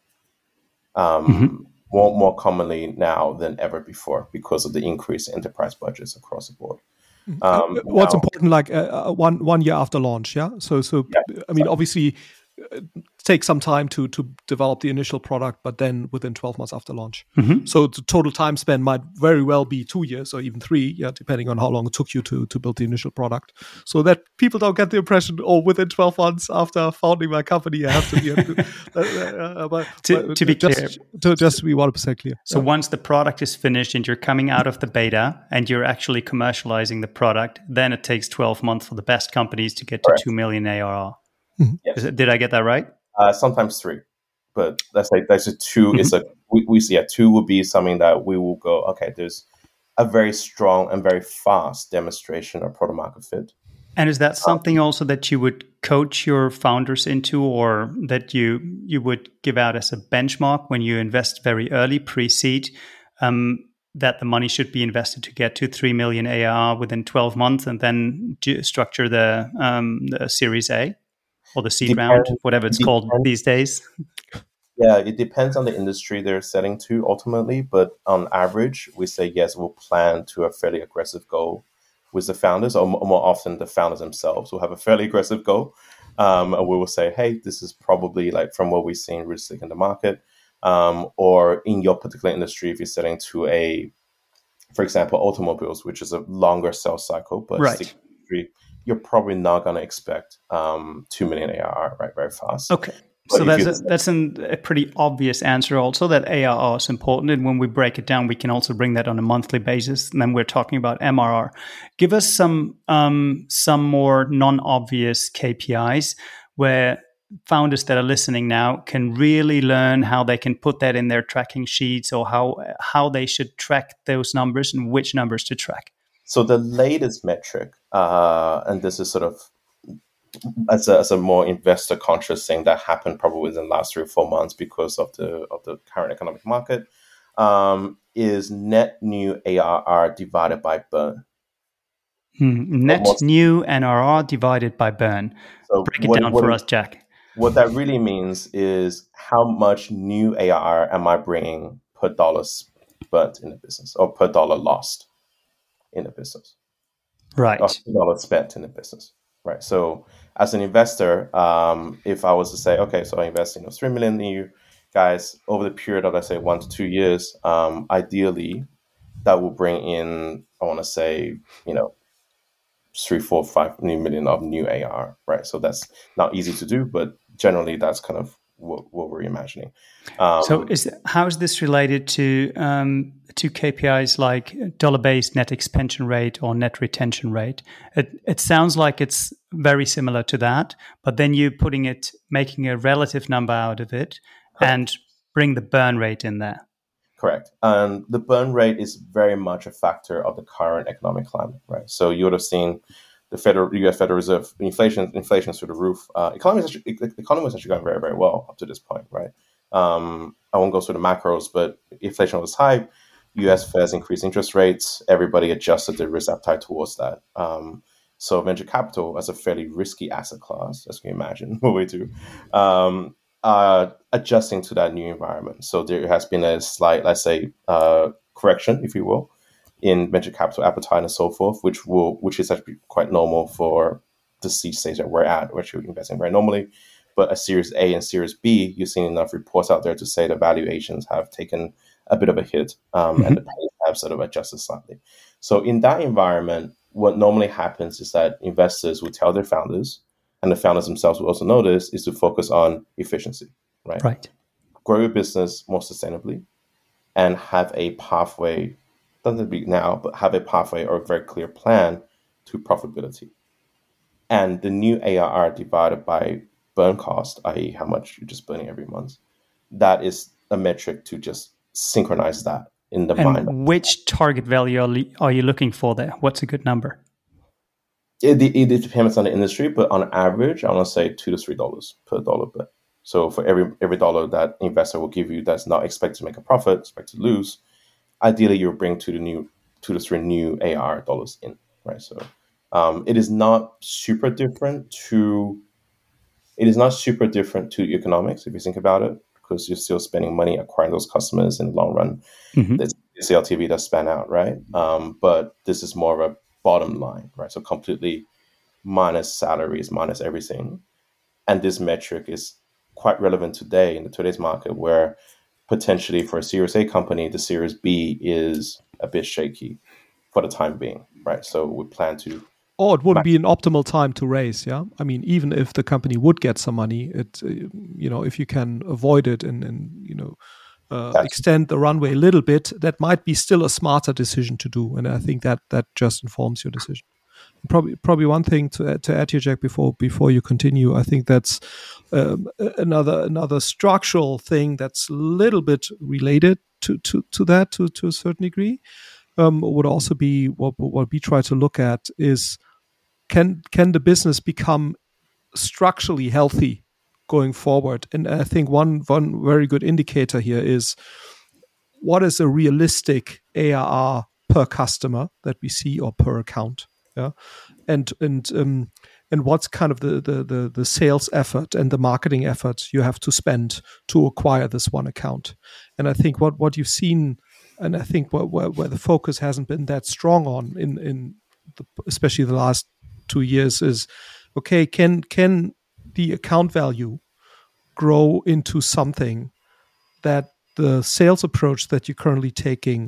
More commonly now than ever before because of the increase in enterprise budgets across the board. What's important, like 1 year after launch, yeah? So yeah, I mean, obviously, take some time to develop the initial product, but then within 12 months after launch. Mm-hmm. So the total time spent might very well be 2 years or even 3, yeah, depending on how long it took you to build the initial product. So that people don't get the impression, within 12 months after founding my company, I have to be to be clear. Just to be 100% clear. So once the product is finished and you're coming out of the beta and you're actually commercializing the product, then it takes 12 months for the best companies to get to 2 million ARR. Mm-hmm. Yes. Did I get that right? Sometimes 3, but that's a 2. Mm-hmm. It's we see 2 would be something that we will go, okay, there's a very strong and very fast demonstration of product market fit. And is that something also that you would coach your founders into, or that you would give out as a benchmark when you invest very early, pre-seed, that the money should be invested to get to 3 million ARR within 12 months, and then structure the Series A? Or the seed round, whatever it's called these days. Yeah, it depends on the industry they're selling to ultimately. But on average, we say, yes, we'll plan to a fairly aggressive goal with the founders, or more often the founders themselves will have a fairly aggressive goal. And we will say, hey, this is probably like from what we've seen realistic in the market. Or in your particular industry, if you're selling to for example, automobiles, which is a longer sales cycle, but right. You're probably not going to expect 2 million ARR very fast. Okay. But so that's a pretty obvious answer also, that ARR is important. And when we break it down, we can also bring that on a monthly basis. And then we're talking about MRR. Give us some more non-obvious KPIs where founders that are listening now can really learn how they can put that in their tracking sheets, or how they should track those numbers and which numbers to track. So the latest metric, and this is sort of as a more investor conscious thing that happened probably within the last 3 or 4 months because of the current economic market, is net new ARR divided by burn. Net new NRR divided by burn. So break it down for us, Jack. What that really means is how much new ARR am I bringing per dollar burnt in the business, or per dollar lost in the business, right? Or dollar spent in the business, right? So as an investor, if I was to say, okay, so I invest 3 million in you guys over the period of, let's say, 1 to 2 years, ideally that will bring in, I want to say, 3, 4, 5 million of new ARR, right? So that's not easy to do, but generally that's kind of what we're imagining. So how is this related to KPIs like dollar-based net expansion rate or net retention rate? It sounds like it's very similar to that, but then you're making a relative number out of it. Correct. And bring the burn rate in there. Correct. And the burn rate is very much a factor of the current economic climate, right? So you would have seen the U.S. Federal Reserve, inflation through the roof. The economy was actually going very, very well up to this point, right? I won't go through the macros, but inflation was high. U.S. Feds increased interest rates. Everybody adjusted their risk appetite towards that. So venture capital, as a fairly risky asset class, as you can imagine, what we do, adjusting to that new environment. So there has been a slight, let's say, correction, if you will, in venture capital appetite and so forth, which is actually quite normal for the seed stage that we're at, which we're investing very normally. But a Series A and Series B, you've seen enough reports out there to say the valuations have taken a bit of a hit, and the pace have sort of adjusted slightly. So in that environment, what normally happens is that investors will tell their founders, and the founders themselves will also know this, is to focus on efficiency, right? Right. Grow your business more sustainably and have a pathway, doesn't be now, but have a pathway or a very clear plan to profitability. And the new ARR divided by burn cost, i.e. how much you're just burning every month, that is a metric to just synchronize that in the mind. And which target value are you looking for there? What's a good number? It depends on the industry, but on average, I want to say $2 to $3 per dollar bet. So for every dollar that investor will give you that's not expected to make a profit, expected to lose, ideally you'll bring $2 to 3 new ARR dollars in, right? So it is not super different to economics if you think about it, because you're still spending money acquiring those customers in the long run. There's LTV that span out, right? But this is more of a bottom line, right? So completely minus salaries, minus everything. And this metric is quite relevant today in today's market, where potentially for a Series A company, the Series B is a bit shaky for the time being, right? So we plan to... Or it wouldn't be an optimal time to raise, yeah? I mean, even if the company would get some money, if you can avoid it and extend the runway a little bit, that might be still a smarter decision to do. And I think that just informs your decision. Probably one thing to add here, Jack, before you continue, I think that's another structural thing that's a little bit related to that to a certain degree. Would also be what we try to look at is can the business become structurally healthy going forward? And I think one very good indicator here is what is a realistic ARR per customer that we see or per account, yeah, and what's kind of the sales effort and the marketing effort you have to spend to acquire this one account. And I think what you've seen, and I think where the focus hasn't been that strong on especially the last 2 years is, okay, can the account value grow into something that the sales approach that you're currently taking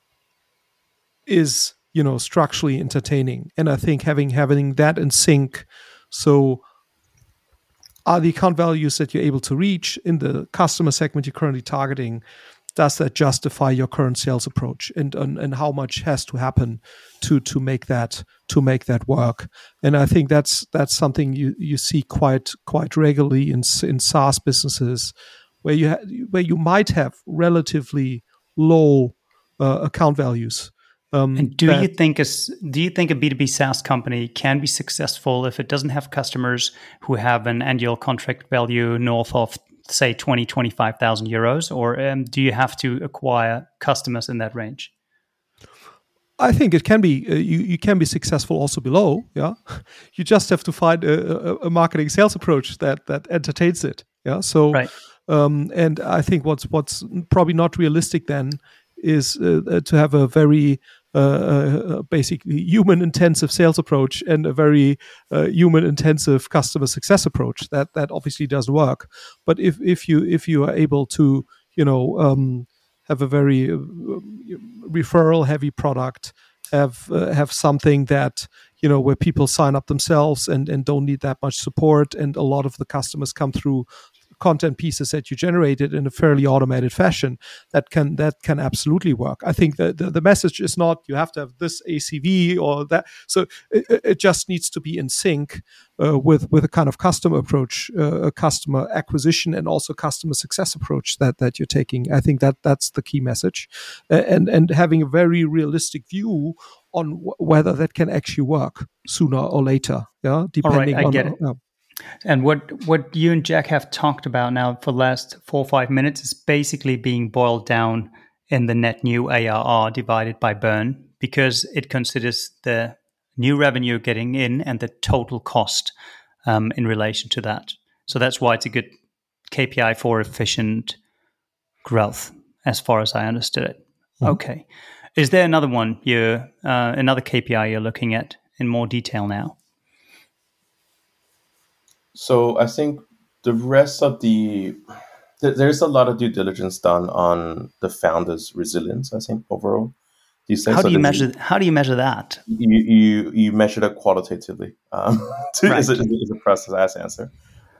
is, structurally entertaining? And I think having that in sync, so are the account values that you're able to reach in the customer segment you're currently targeting, does that justify your current sales approach, and how much has to happen to make that work? And I think that's something you see quite regularly in SaaS businesses, where you might have relatively low account values. And do you think a B2B SaaS company can be successful if it doesn't have customers who have an annual contract value north of, say, 25,000 euros, or do you have to acquire customers in that range? I think it can be. You can be successful also below. Yeah, you just have to find a marketing sales approach that entertains it. Yeah. So, right. And I think what's probably not realistic then is to have a very basically human-intensive sales approach and a very human-intensive customer success approach. That obviously doesn't work. But if you are able to have a very referral-heavy product, have something that where people sign up themselves and don't need that much support, and a lot of the customers come through content pieces that you generated in a fairly automated fashion, that can absolutely work. I think that the message is not you have to have this ACV or that. So it just needs to be in sync with a kind of customer approach, a customer acquisition, and also customer success approach that you're taking. I think that's the key message, and having a very realistic view on whether that can actually work sooner or later. Yeah, depending I get it. And what you and Jack have talked about now for the last 4 or 5 minutes is basically being boiled down in the net new ARR divided by burn, because it considers the new revenue getting in and the total cost in relation to that. So that's why it's a good KPI for efficient growth, as far as I understood it. Mm-hmm. Okay. Is there another one another KPI you're looking at in more detail now? So I think the rest of there's a lot of due diligence done on the founder's resilience, I think, overall. How do you measure that? You measure it qualitatively. Right. Is a process as answer.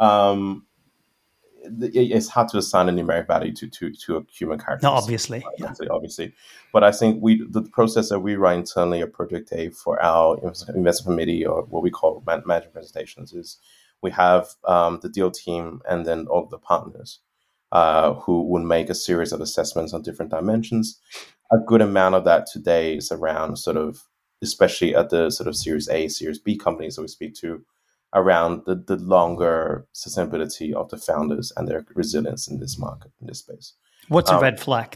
It's hard to assign a numeric value to a human character. No, obviously. Yeah. Obviously. But I think the process that we run internally at Project A for our investment committee, or what we call management presentations, is we have the deal team and then all of the partners who would make a series of assessments on different dimensions. A good amount of that today is around sort of, especially at the sort of Series A, Series B companies that we speak to, around the longer sustainability of the founders and their resilience in this market, in this space. What's a red flag?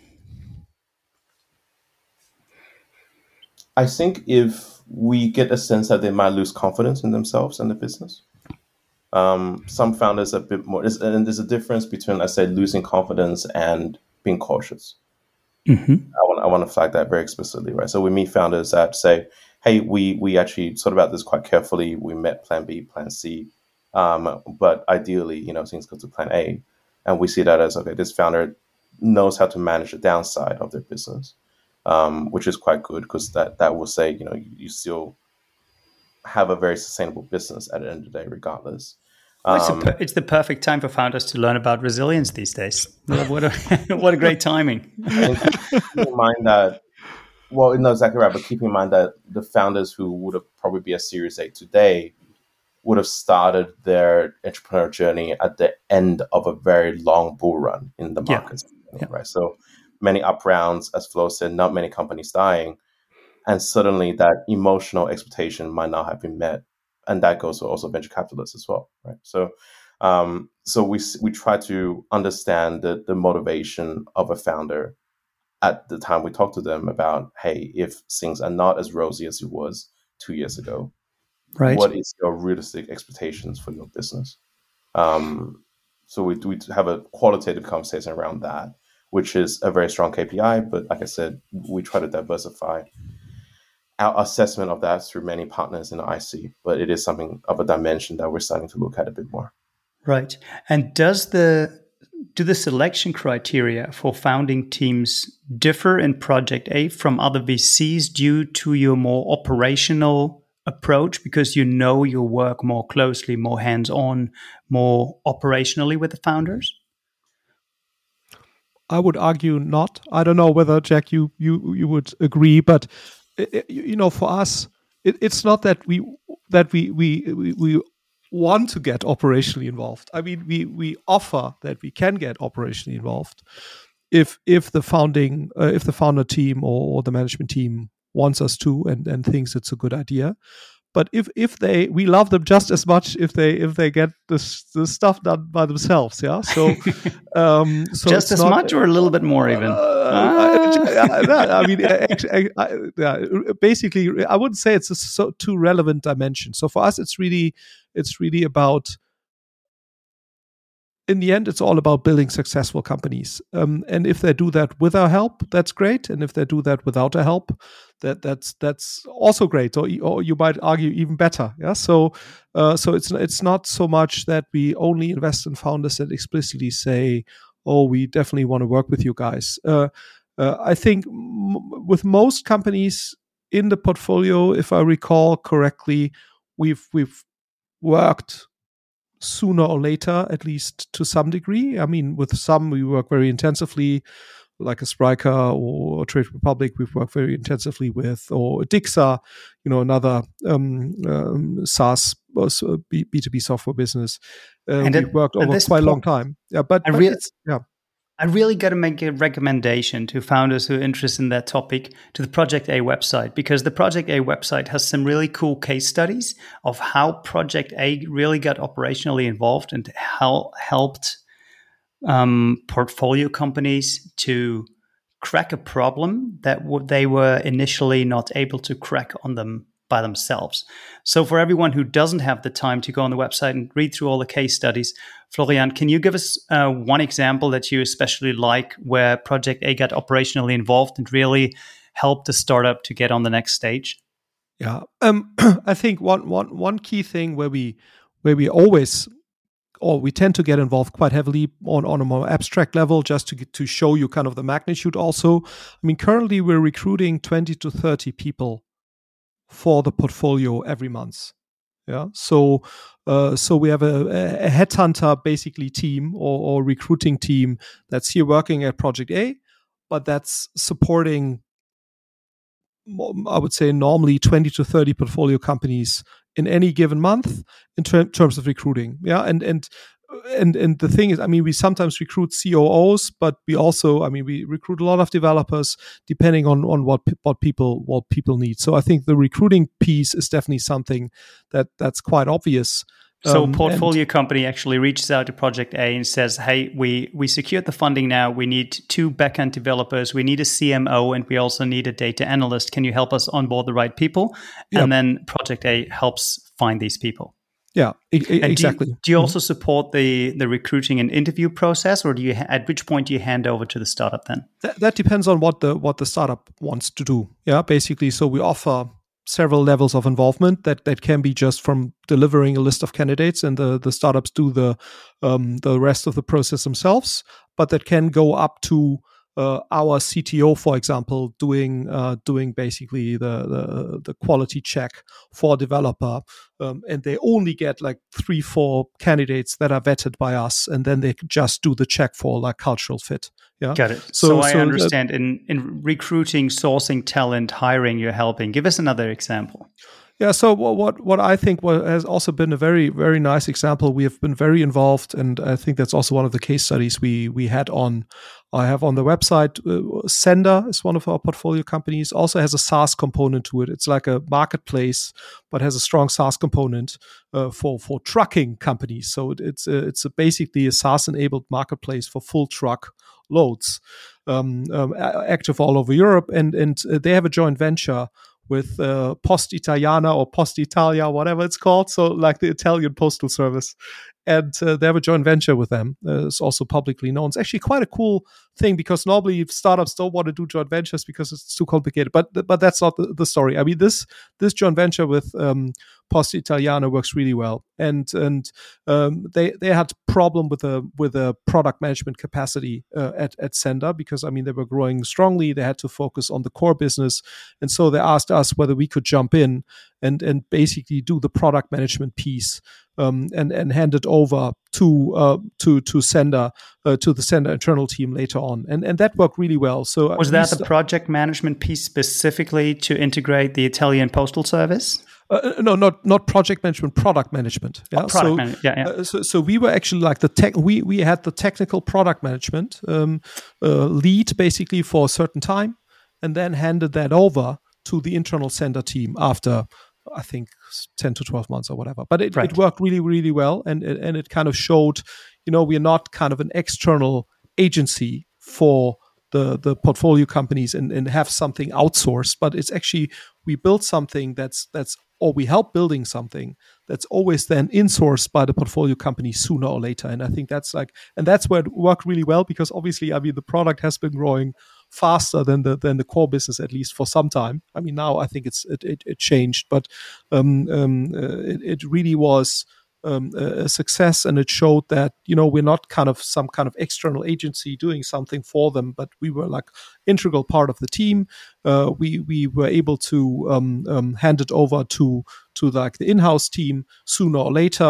I think if we get a sense that they might lose confidence in themselves and the business. Some founders are a bit more, and there's a difference between, let's say, losing confidence and being cautious. Mm-hmm. I want to flag that very explicitly, right? So we meet founders that say, hey, we actually thought about this quite carefully. We met plan B, plan C, but ideally, things go to plan A. And we see that as, okay, this founder knows how to manage the downside of their business, which is quite good, because that will say, you still have a very sustainable business at the end of the day, regardless. It's the perfect time for founders to learn about resilience these days. What a great timing. Keep in mind that, well, no, exactly right, but keep in mind that the founders who would have probably be a Series A today would have started their entrepreneurial journey at the end of a very long bull run in the market, right? So many up rounds, as Flo said, not many companies dying, and suddenly that emotional expectation might not have been met. And that goes to also venture capitalists as well, right? So, so we try to understand the motivation of a founder at the time we talk to them about, hey, if things are not as rosy as it was 2 years ago, right, what is your realistic expectations for your business? So we have a qualitative conversation around that, which is a very strong KPI. But like I said, we try to diversify our assessment of that through many partners in the IC, but it is something of a dimension that we're starting to look at a bit more. Right. And do the selection criteria for founding teams differ in Project A from other VCs due to your more operational approach, because you'll work more closely, more hands-on, more operationally with the founders? I would argue not. I don't know whether, Jack, you would agree, but for us, it's not that we want to get operationally involved. I mean, we offer that we can get operationally involved if the founder team or the management team wants us to and thinks it's a good idea. But if we love them just as much if they get the stuff done by themselves, yeah. So, just as much or a little bit more even. I mean, basically, I wouldn't say it's a too relevant dimension. So for us, it's really about. In the end, it's all about building successful companies. And if they do that with our help, that's great. And if they do that without our help, that's also great. Or you might argue even better. Yeah. So it's not so much that we only invest in founders that explicitly say, "Oh, we definitely want to work with you guys." I think with most companies in the portfolio, if I recall correctly, we've worked sooner or later, at least to some degree. I mean, with some we work very intensively, like a Spryker or Trade Republic, we've worked very intensively with, or Dixa, another SaaS B2B software business. And we've worked over quite a long time. Yeah, but I really got to make a recommendation to founders who are interested in that topic to the Project A website, because the Project A website has some really cool case studies of how Project A really got operationally involved and how helped portfolio companies to crack a problem that they were initially not able to crack on them by themselves. So for everyone who doesn't have the time to go on the website and read through all the case studies, Florian, can you give us one example that you especially like where Project A got operationally involved and really helped the startup to get on the next stage? Yeah, I think one key thing where we always, or we tend to get involved quite heavily on a more abstract level, just to show you kind of the magnitude also. I mean, currently we're recruiting 20 to 30 people for the portfolio every month. Yeah. So we have a headhunter basically team or recruiting team that's here working at Project A, but that's supporting, I would say, normally 20 to 30 portfolio companies in any given month in terms of recruiting. Yeah. And the thing is, I mean, we sometimes recruit COOs, but we also, I mean, we recruit a lot of developers depending on what people need. So I think the recruiting piece is definitely something that's quite obvious. So a portfolio company actually reaches out to Project A and says, hey, we secured the funding now. We need 2 backend developers. We need a CMO, and we also need a data analyst. Can you help us onboard the right people? Yep. And then Project A helps find these people. Yeah, exactly. Do you also support the recruiting and interview process, or at which point do you hand over to the startup then? That depends on what the startup wants to do. Yeah, basically. So we offer several levels of involvement that can be just from delivering a list of candidates, and the startups do the rest of the process themselves. But that can go up to our CTO, for example, doing basically the quality check for a developer, and they only get like 3-4 candidates that are vetted by us, and then they just do the check for like cultural fit. Yeah, got it. So I understand in recruiting, sourcing talent, hiring, you're helping. Give us another example. Yeah, so what I think has also been a very, very nice example, we have been very involved, and I think that's also one of the case studies we had on. I have on the website. Sender is one of our portfolio companies, also has a SaaS component to it. It's like a marketplace, but has a strong SaaS component for trucking companies. So it's basically a SaaS-enabled marketplace for full truck loads, active all over Europe, and they have a joint venture with Post Italiana or Post Italia, whatever it's called. So like the Italian postal service. And they have a joint venture with them. It's also publicly known. It's actually quite a cool thing, because normally startups don't want to do joint ventures because it's too complicated. But that's not the story. I mean, this joint venture with Post Italiana works really well. And they had problem with a product management capacity at Sender, because I mean they were growing strongly. They had to focus on the core business, and so they asked us whether we could jump in and basically do the product management piece. And hand it over to Sender, to the Sender internal team later on, and that worked really well. So was that the project management piece specifically to integrate the Italian postal service? No, not project management, product management. Yeah, So we were actually like the tech. We had the technical product management lead basically for a certain time, and then handed that over to the internal Sender team after, I think, 10 to 12 months or whatever. But it worked really, really well. And it kind of showed, we're not kind of an external agency for the portfolio companies and have something outsourced, but it's actually, we built something or we help building something that's always then insourced by the portfolio company sooner or later. And I think that's where it worked really well, because obviously, I mean, the product has been growing faster than the core business, at least for some time. I mean, now I think it changed, but it really was a success, and it showed that we're not kind of some kind of external agency doing something for them, but we were like integral part of the team. We were able to hand it over to like the in-house team sooner or later.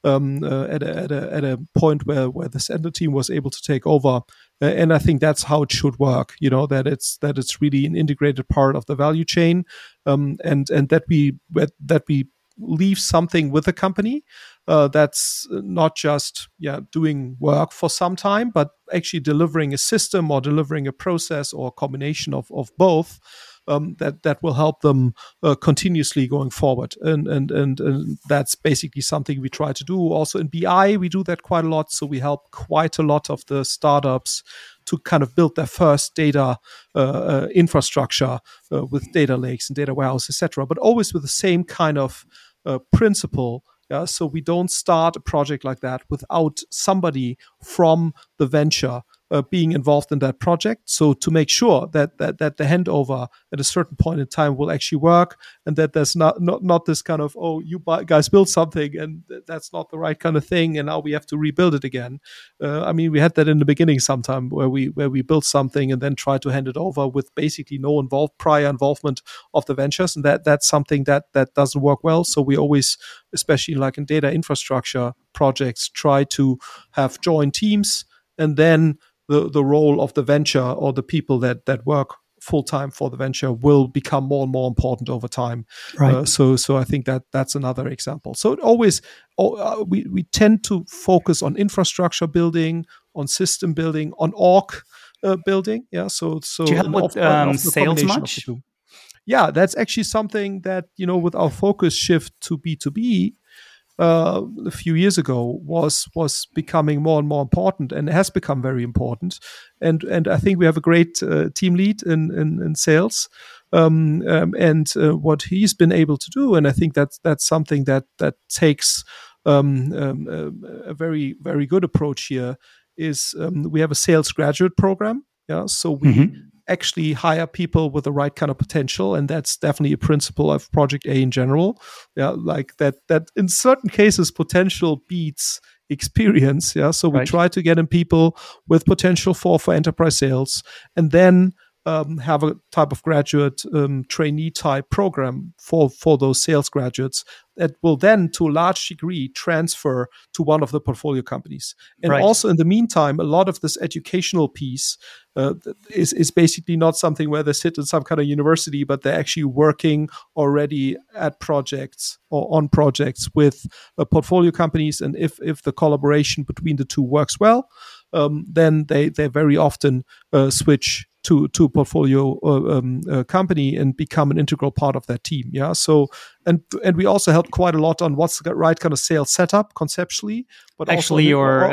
at a point where the center team was able to take over. And I think that's how it should work. That it's really an integrated part of the value chain, and that we leave something with the company that's not just doing work for some time, but actually delivering a system or delivering a process or a combination of both. That will help them continuously going forward, and that's basically something we try to do. Also in BI, we do that quite a lot. So we help quite a lot of the startups to kind of build their first data infrastructure with data lakes and data warehouse, etc. But always with the same kind of principle. So we don't start a project like that without somebody from the venture being involved in that project. So to make sure that the handover at a certain point in time will actually work, and that there's not this kind of, oh, you guys build something and that's not the right kind of thing, and now we have to rebuild it again. We had that in the beginning sometime where we built something and then tried to hand it over with basically no prior involvement of the ventures, and that's something that doesn't work well. So we always, especially like in data infrastructure projects, try to have joint teams, and then the role of the venture or the people that work full-time for the venture will become more and more important over time. Right. So I think that's another example. So it always, we tend to focus on infrastructure building, on system building, on org building. Yeah. So do you help with sales much? Yeah, that's actually something that, with our focus shift to B2B, a few years ago was becoming more and more important, and has become very important. And I think we have a great team lead in sales, and what he's been able to do. And I think that's something that takes a very, very good approach here. Is we have a sales graduate program. Yeah, so we actually hire people with the right kind of potential, and that's definitely a principle of Project A in general. Yeah, like that in certain cases potential beats experience. Yeah, so we try to get in people with potential for enterprise sales, and then have a type of graduate trainee type program for those sales graduates that will then, to a large degree, transfer to one of the portfolio companies. And also, in the meantime, a lot of this educational piece is basically not something where they sit in some kind of university, but they're actually working already at projects or on projects with portfolio companies. And if the collaboration between the two works well, then they very often switch to portfolio company and become an integral part of that team. Yeah. So and we also help quite a lot on what's the right kind of sales setup conceptually. But actually,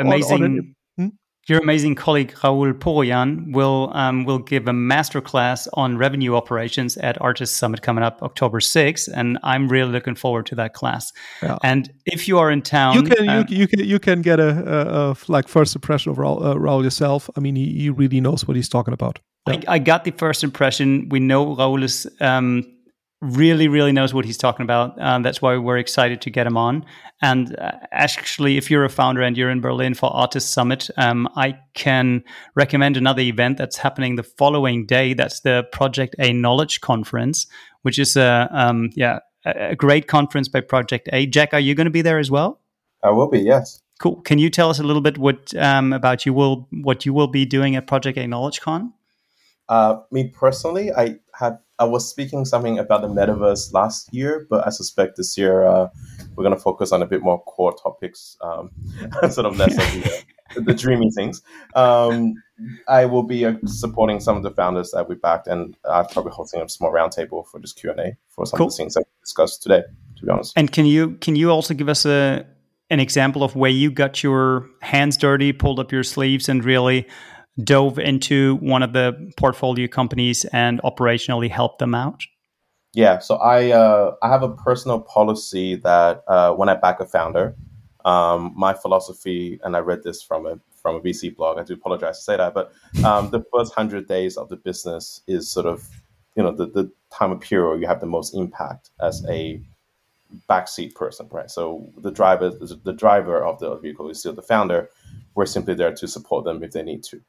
your amazing colleague Raul Poroyan will give a masterclass on revenue operations at Artist Summit coming up October 6th, and I'm really looking forward to that class. Yeah. And if you are in town, you can get a like first impression of Raul yourself. I mean, he really knows what he's talking about. Yeah. I got the first impression. We know Raul is really, really knows what he's talking about. That's why we're excited to get him on. And actually, if you're a founder and you're in Berlin for Artist Summit, I can recommend another event that's happening the following day. That's the Project A Knowledge Conference, which is a great conference by Project A. Jack, are you going to be there as well? I will be, yes. Cool. Can you tell us a little bit what you will be doing at Project A Knowledge Con? Me personally, I was speaking something about the metaverse last year, but I suspect this year we're going to focus on a bit more core topics, sort of less of the dreamy things. I will be supporting some of the founders that we backed, and I'm probably hosting a small roundtable for just Q&A for some of the things that we discussed today, to be honest. And can you also give us an example of where you got your hands dirty, pulled up your sleeves, and really dove into one of the portfolio companies and operationally helped them out? Yeah, so I have a personal policy that when I back a founder, my philosophy, and I read this from a VC blog, I do apologize to say that, but the first 100 days of the business is sort of, the time of period where you have the most impact as a backseat person, right? So the driver of the vehicle is still the founder. We're simply there to support them if they need to.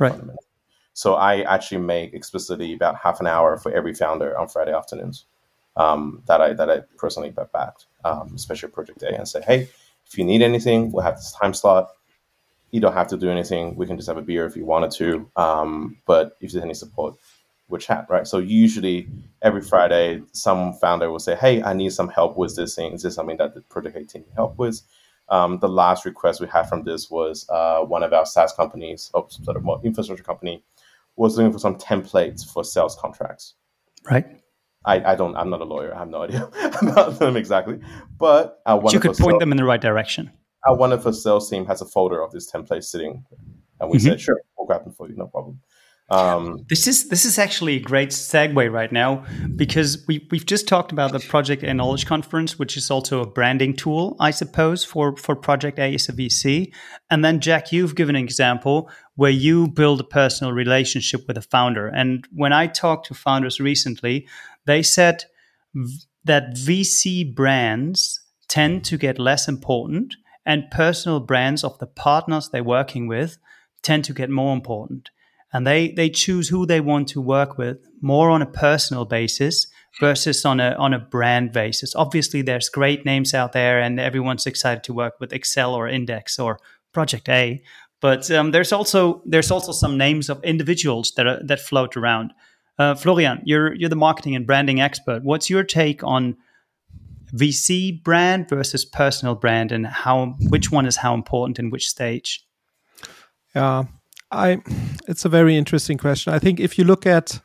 So I actually make explicitly about half an hour for every founder on Friday afternoons that I personally backed, especially Project A, and say, hey, if you need anything, we'll have this time slot. You don't have to do anything. We can just have a beer if you wanted to. But if there's any support, we'll chat, right? So usually every Friday, some founder will say, hey, I need some help with this thing. Is this something that the Project A team can help with? The last request we had from this was one of our SaaS companies, sort of more infrastructure company, was looking for some templates for sales contracts. Right. I'm not a lawyer. I have no idea about them exactly. But you could point them in the right direction. Our wonderful sales team has a folder of this template sitting. And we said, sure, we'll grab them for you. No problem. This is actually a great segue right now, because we've just talked about the Project A Knowledge Conference, which is also a branding tool, I suppose, for Project A as a VC. And then, Jack, you've given an example where you build a personal relationship with a founder. And when I talked to founders recently, they said that VC brands tend to get less important, and personal brands of the partners they're working with tend to get more important. And they choose who they want to work with more on a personal basis versus on a brand basis. Obviously, there's great names out there, and everyone's excited to work with Excel or Index or Project A. But there's also some names of individuals that float around. Florian, you're the marketing and branding expert. What's your take on VC brand versus personal brand, and which one is how important in which stage? Yeah. It's a very interesting question. I think if you look at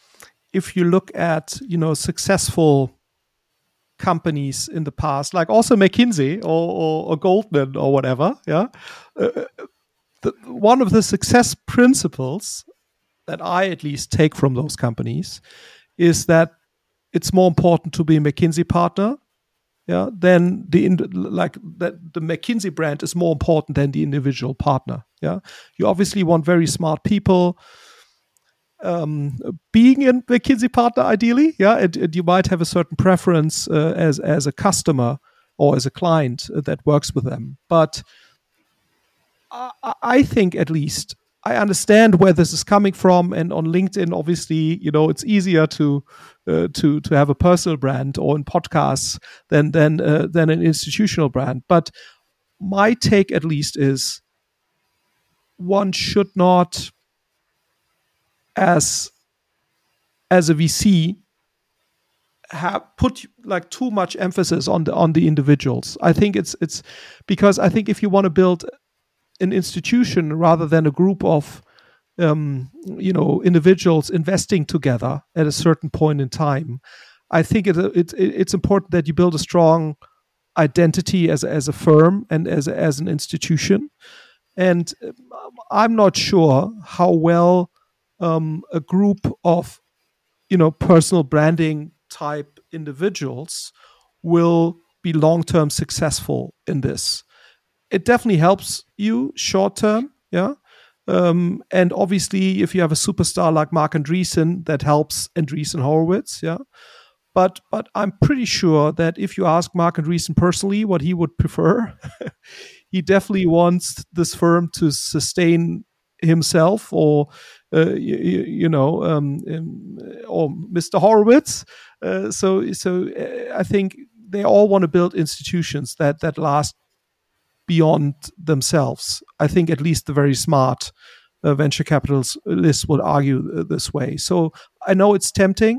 successful companies in the past, like also McKinsey or Goldman or whatever, one of the success principles that I at least take from those companies is that it's more important to be a McKinsey partner, then the McKinsey brand is more important than the individual partner. Yeah, you obviously want very smart people being a McKinsey partner, ideally. Yeah, and you might have a certain preference as a customer or as a client that works with them. But I think at least I understand where this is coming from, and on LinkedIn, obviously, it's easier to have a personal brand, or in podcasts than an institutional brand. But my take, at least, is one should not, as a VC, put like too much emphasis on the individuals. I think it's because I think if you want to build an institution rather than a group of individuals investing together at a certain point in time, I think it's important that you build a strong identity as a firm and as an institution. And I'm not sure how well a group of personal branding type individuals will be long-term successful in this. It definitely helps you short-term, and obviously, if you have a superstar like Marc Andreessen, that helps Andreessen Horowitz, But I'm pretty sure that if you ask Marc Andreessen personally what he would prefer, he definitely wants this firm to sustain himself, or or Mr. Horowitz. So I think they all want to build institutions that last beyond themselves. I think at least the very smart venture capitalists would argue this way. So I know it's tempting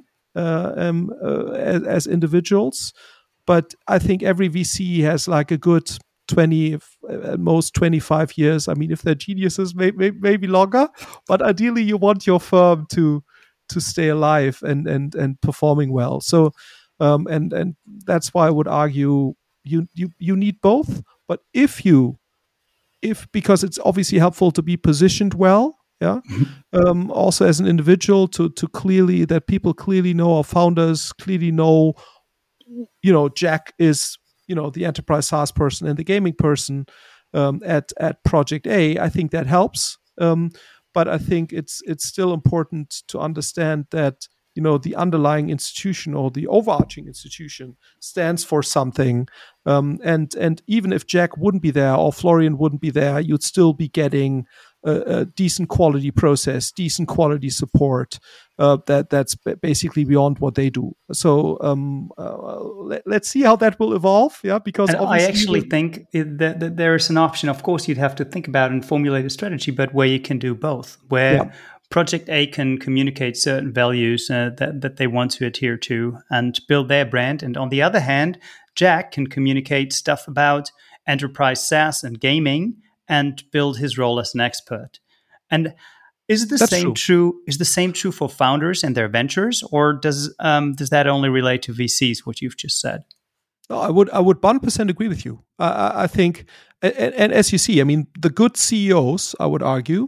as individuals, but I think every VC has like a good 20, at most 25 years. I mean, if they're geniuses, maybe longer, but ideally you want your firm to stay alive and performing well. So and that's why I would argue you need both. But because it's obviously helpful to be positioned well, also as an individual to clearly, that people clearly know, our founders clearly know, Jack is, the enterprise SaaS person and the gaming person at Project A. I think that helps. But I think it's still important to understand that the underlying institution or the overarching institution stands for something. And even if Jack wouldn't be there or Florian wouldn't be there, you'd still be getting a decent quality process, decent quality support that's basically beyond what they do. So let's see how that will evolve. Yeah, because and I actually think that there is an option. Of course, you'd have to think about and formulate a strategy, but where you can do both, where Project A can communicate certain values that they want to adhere to and build their brand. And on the other hand, Jack can communicate stuff about enterprise SaaS and gaming and build his role as an expert. And is the same true? Is the same true for founders and their ventures, or does that only relate to VCs? What you've just said? No, I would 100% agree with you. I think, and as you see, I mean, the good CEOs, I would argue,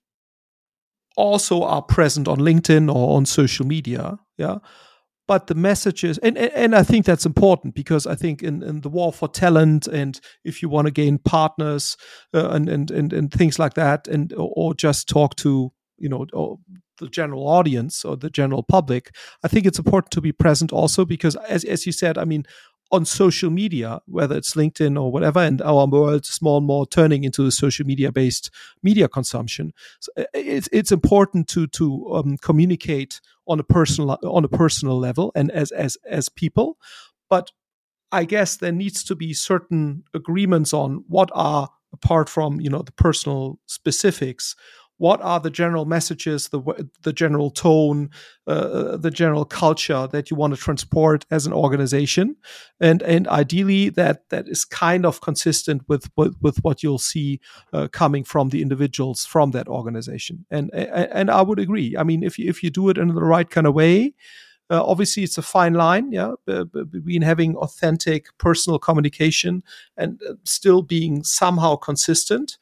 also are present on LinkedIn or on social media. Yeah. But the messages, and I think that's important, because I think in the war for talent, and if you want to gain partners and things like that, or just talk to the general audience or the general public, I think it's important to be present also, because as you said, I mean, on social media, whether it's LinkedIn or whatever, and our world is more and more turning into a social media-based media consumption. So it's important to communicate on a personal level and as people. But I guess there needs to be certain agreements on what are, apart from the personal specifics, what are the general messages, the general tone, the general culture that you want to transport as an organization, and ideally that is kind of consistent with what you'll see coming from the individuals from that organization. And I would agree. I mean, if you do it in the right kind of way. Obviously, it's a fine line, between having authentic personal communication and still being somehow consistent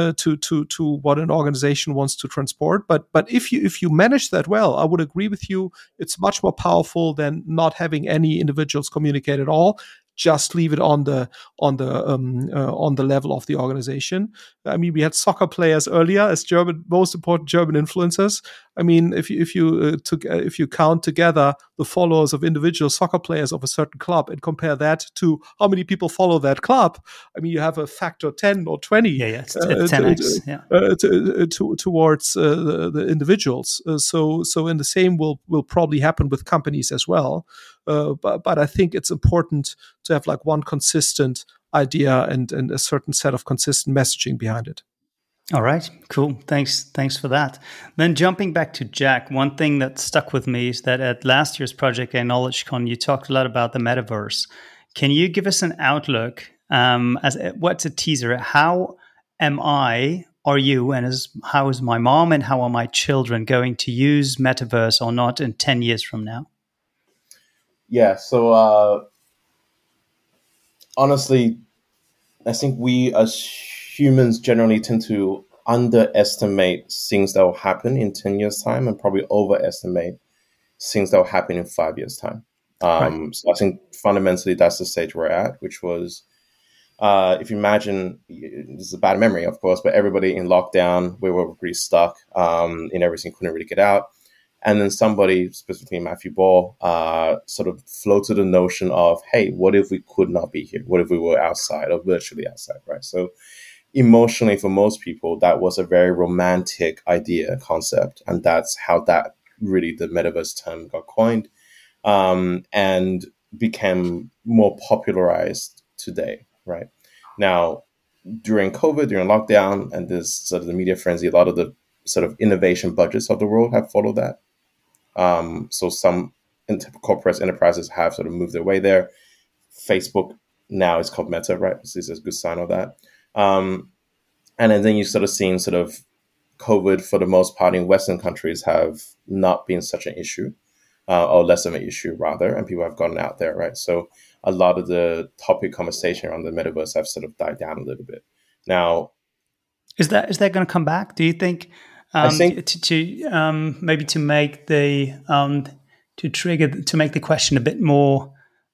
to what an organization wants to transport. But if you manage that well, I would agree with you. It's much more powerful than not having any individuals communicate at all. Just leave it on the level of the organization. I mean, we had soccer players earlier as most important German influencers. I mean, if you count together the followers of individual soccer players of a certain club and compare that to how many people follow that club, I mean, you have a factor 10 or 20. It's 10x. Towards the individuals. So in the same will probably happen with companies as well. But I think it's important to have like one consistent idea and a certain set of consistent messaging behind it. All right, cool. Thanks for that. Then jumping back to Jack, one thing that stuck with me is that at last year's Project A KnowledgeCon, you talked a lot about the metaverse. Can you give us an outlook, what's a teaser? How are you, and how is my mom and how are my children going to use metaverse or not in 10 years from now? Yeah, so honestly, I think we as humans generally tend to underestimate things that will happen in 10 years' time and probably overestimate things that will happen in 5 years' time. Right. So I think fundamentally that's the stage we're at, which was, if you imagine, this is a bad memory, of course, but everybody in lockdown, we were pretty stuck in everything, couldn't really get out. And then somebody, specifically Matthew Ball, sort of floated the notion of, hey, what if we could not be here? What if we were outside or virtually outside, right? So emotionally, for most people, that was a very romantic idea, concept. And that's how the metaverse term got coined and became more popularized today, right? Now, during COVID, during lockdown, and this sort of the media frenzy, a lot of the sort of innovation budgets of the world have followed that. So some corporate enterprises have sort of moved their way there. Facebook now is called Meta, right? This is a good sign of that. And then you sort of seen sort of COVID, for the most part, in Western countries have not been such an issue, or less of an issue rather, and people have gotten out there, right? So a lot of the topic conversation around the metaverse have sort of died down a little bit. Now, is that going to come back? Do you think? I think to maybe to make the to make the question a bit more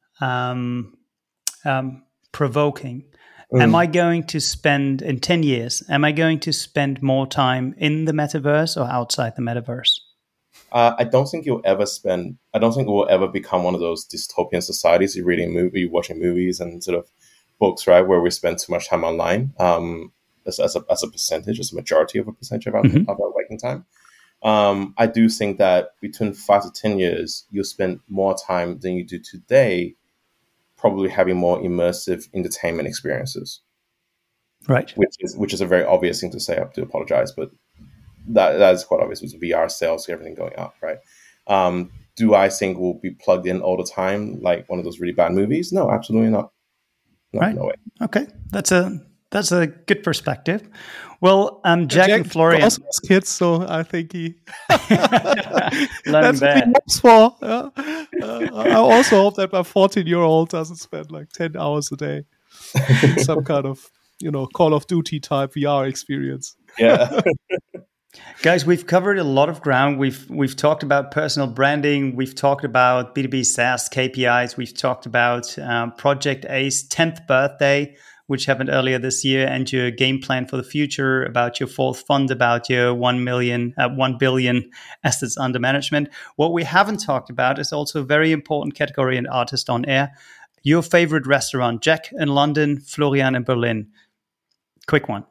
provoking. Am I going to spend in 10 years? Am I going to spend more time in the metaverse or outside the metaverse? I don't think it will ever become one of those dystopian societies. You're watching movies and sort of books, right, where we spend too much time online, as a percentage, as a majority of a percentage of our waking time. I do think that between 5 to 10 years, you'll spend more time than you do today, probably having more immersive entertainment experiences. Right. Which is a very obvious thing to say. I have to apologize, but that is quite obvious with VR sales, everything going up, right? Do I think we'll be plugged in all the time, like one of those really bad movies? No, absolutely not. Right. No way. Okay, that's a good perspective. Well, Jack and Florian also has kids, so I think he that's what he hopes for. I also hope that my 14-year-old doesn't spend like 10 hours a day in some kind of Call of Duty type VR experience. Yeah. Guys, we've covered a lot of ground. We've talked about personal branding. We've talked about B2B SaaS KPIs. We've talked about Project A's 10th birthday, which happened earlier this year, and your game plan for the future, about your fourth fund, about your 1 billion assets under management. What we haven't talked about is also a very important category in Artist on Air. Your favorite restaurant, Jack in London, Florian in Berlin. Quick one.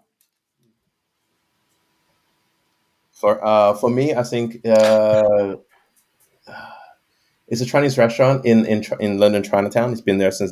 For me, I think it's a Chinese restaurant in London Chinatown. It's been there since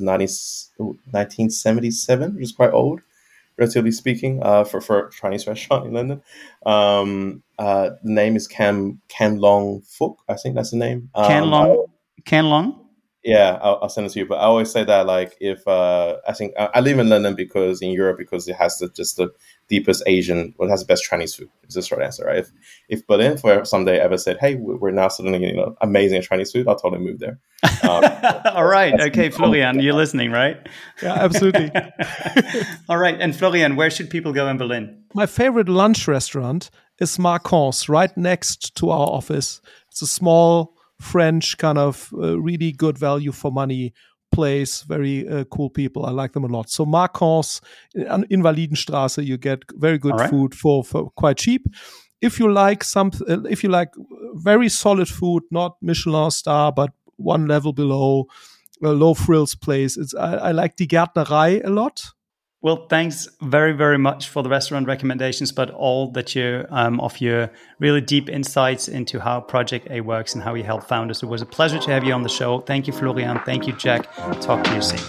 1977, which is quite old, relatively speaking, for a Chinese restaurant in London. The name is Cam Long Fook. I think that's the name. Can Long. Yeah, I'll send it to you. But I always say that, like, if I think I live in London because it has the deepest Asian, it has the best Chinese food. Is the short answer, right? If Berlin for someday ever said, hey, we're now suddenly amazing Chinese food, I'll totally move there. All right, okay, Florian, you're listening, right? Yeah, absolutely. All right, and Florian, where should people go in Berlin? My favorite lunch restaurant is Marquand's, right next to our office. It's a small French kind of really good value for money place, very cool people. I like them a lot. So Marquand's in Invalidenstraße, you get very good food for quite cheap. If you like very solid food, not Michelin star, but one level below, a low frills place, I like Die Gärtnerei a lot. Well, thanks very, very much for the restaurant recommendations, but all that you of your really deep insights into how Project A works and how you help founders. It was a pleasure to have you on the show. Thank you, Florian. Thank you, Jack. Talk to you soon.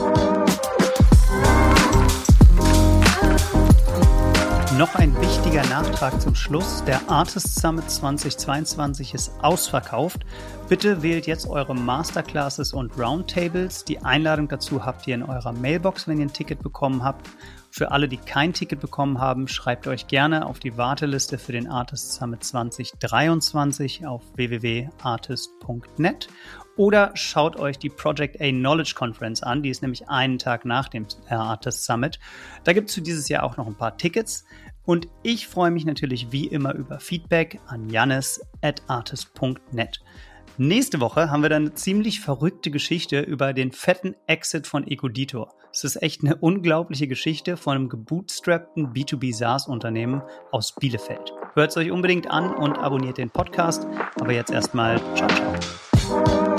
Noch ein wichtiger Nachtrag zum Schluss. Der Artist Summit 2022 ist ausverkauft. Bitte wählt jetzt eure Masterclasses und Roundtables. Die Einladung dazu habt ihr in eurer Mailbox, wenn ihr ein Ticket bekommen habt. Für alle, die kein Ticket bekommen haben, schreibt euch gerne auf die Warteliste für den Artist Summit 2023 auf www.artist.net. Oder schaut euch die Project A Knowledge Conference an. Die ist nämlich einen Tag nach dem Artist Summit. Da gibt es für dieses Jahr auch noch ein paar Tickets. Und ich freue mich natürlich wie immer über Feedback an jannis@artist.net. Nächste Woche haben wir dann eine ziemlich verrückte Geschichte über den fetten Exit von Ecoditor. Es ist echt eine unglaubliche Geschichte von einem gebootstrappten B2B SaaS-Unternehmen aus Bielefeld. Hört es euch unbedingt an und abonniert den Podcast. Aber jetzt erstmal ciao, ciao.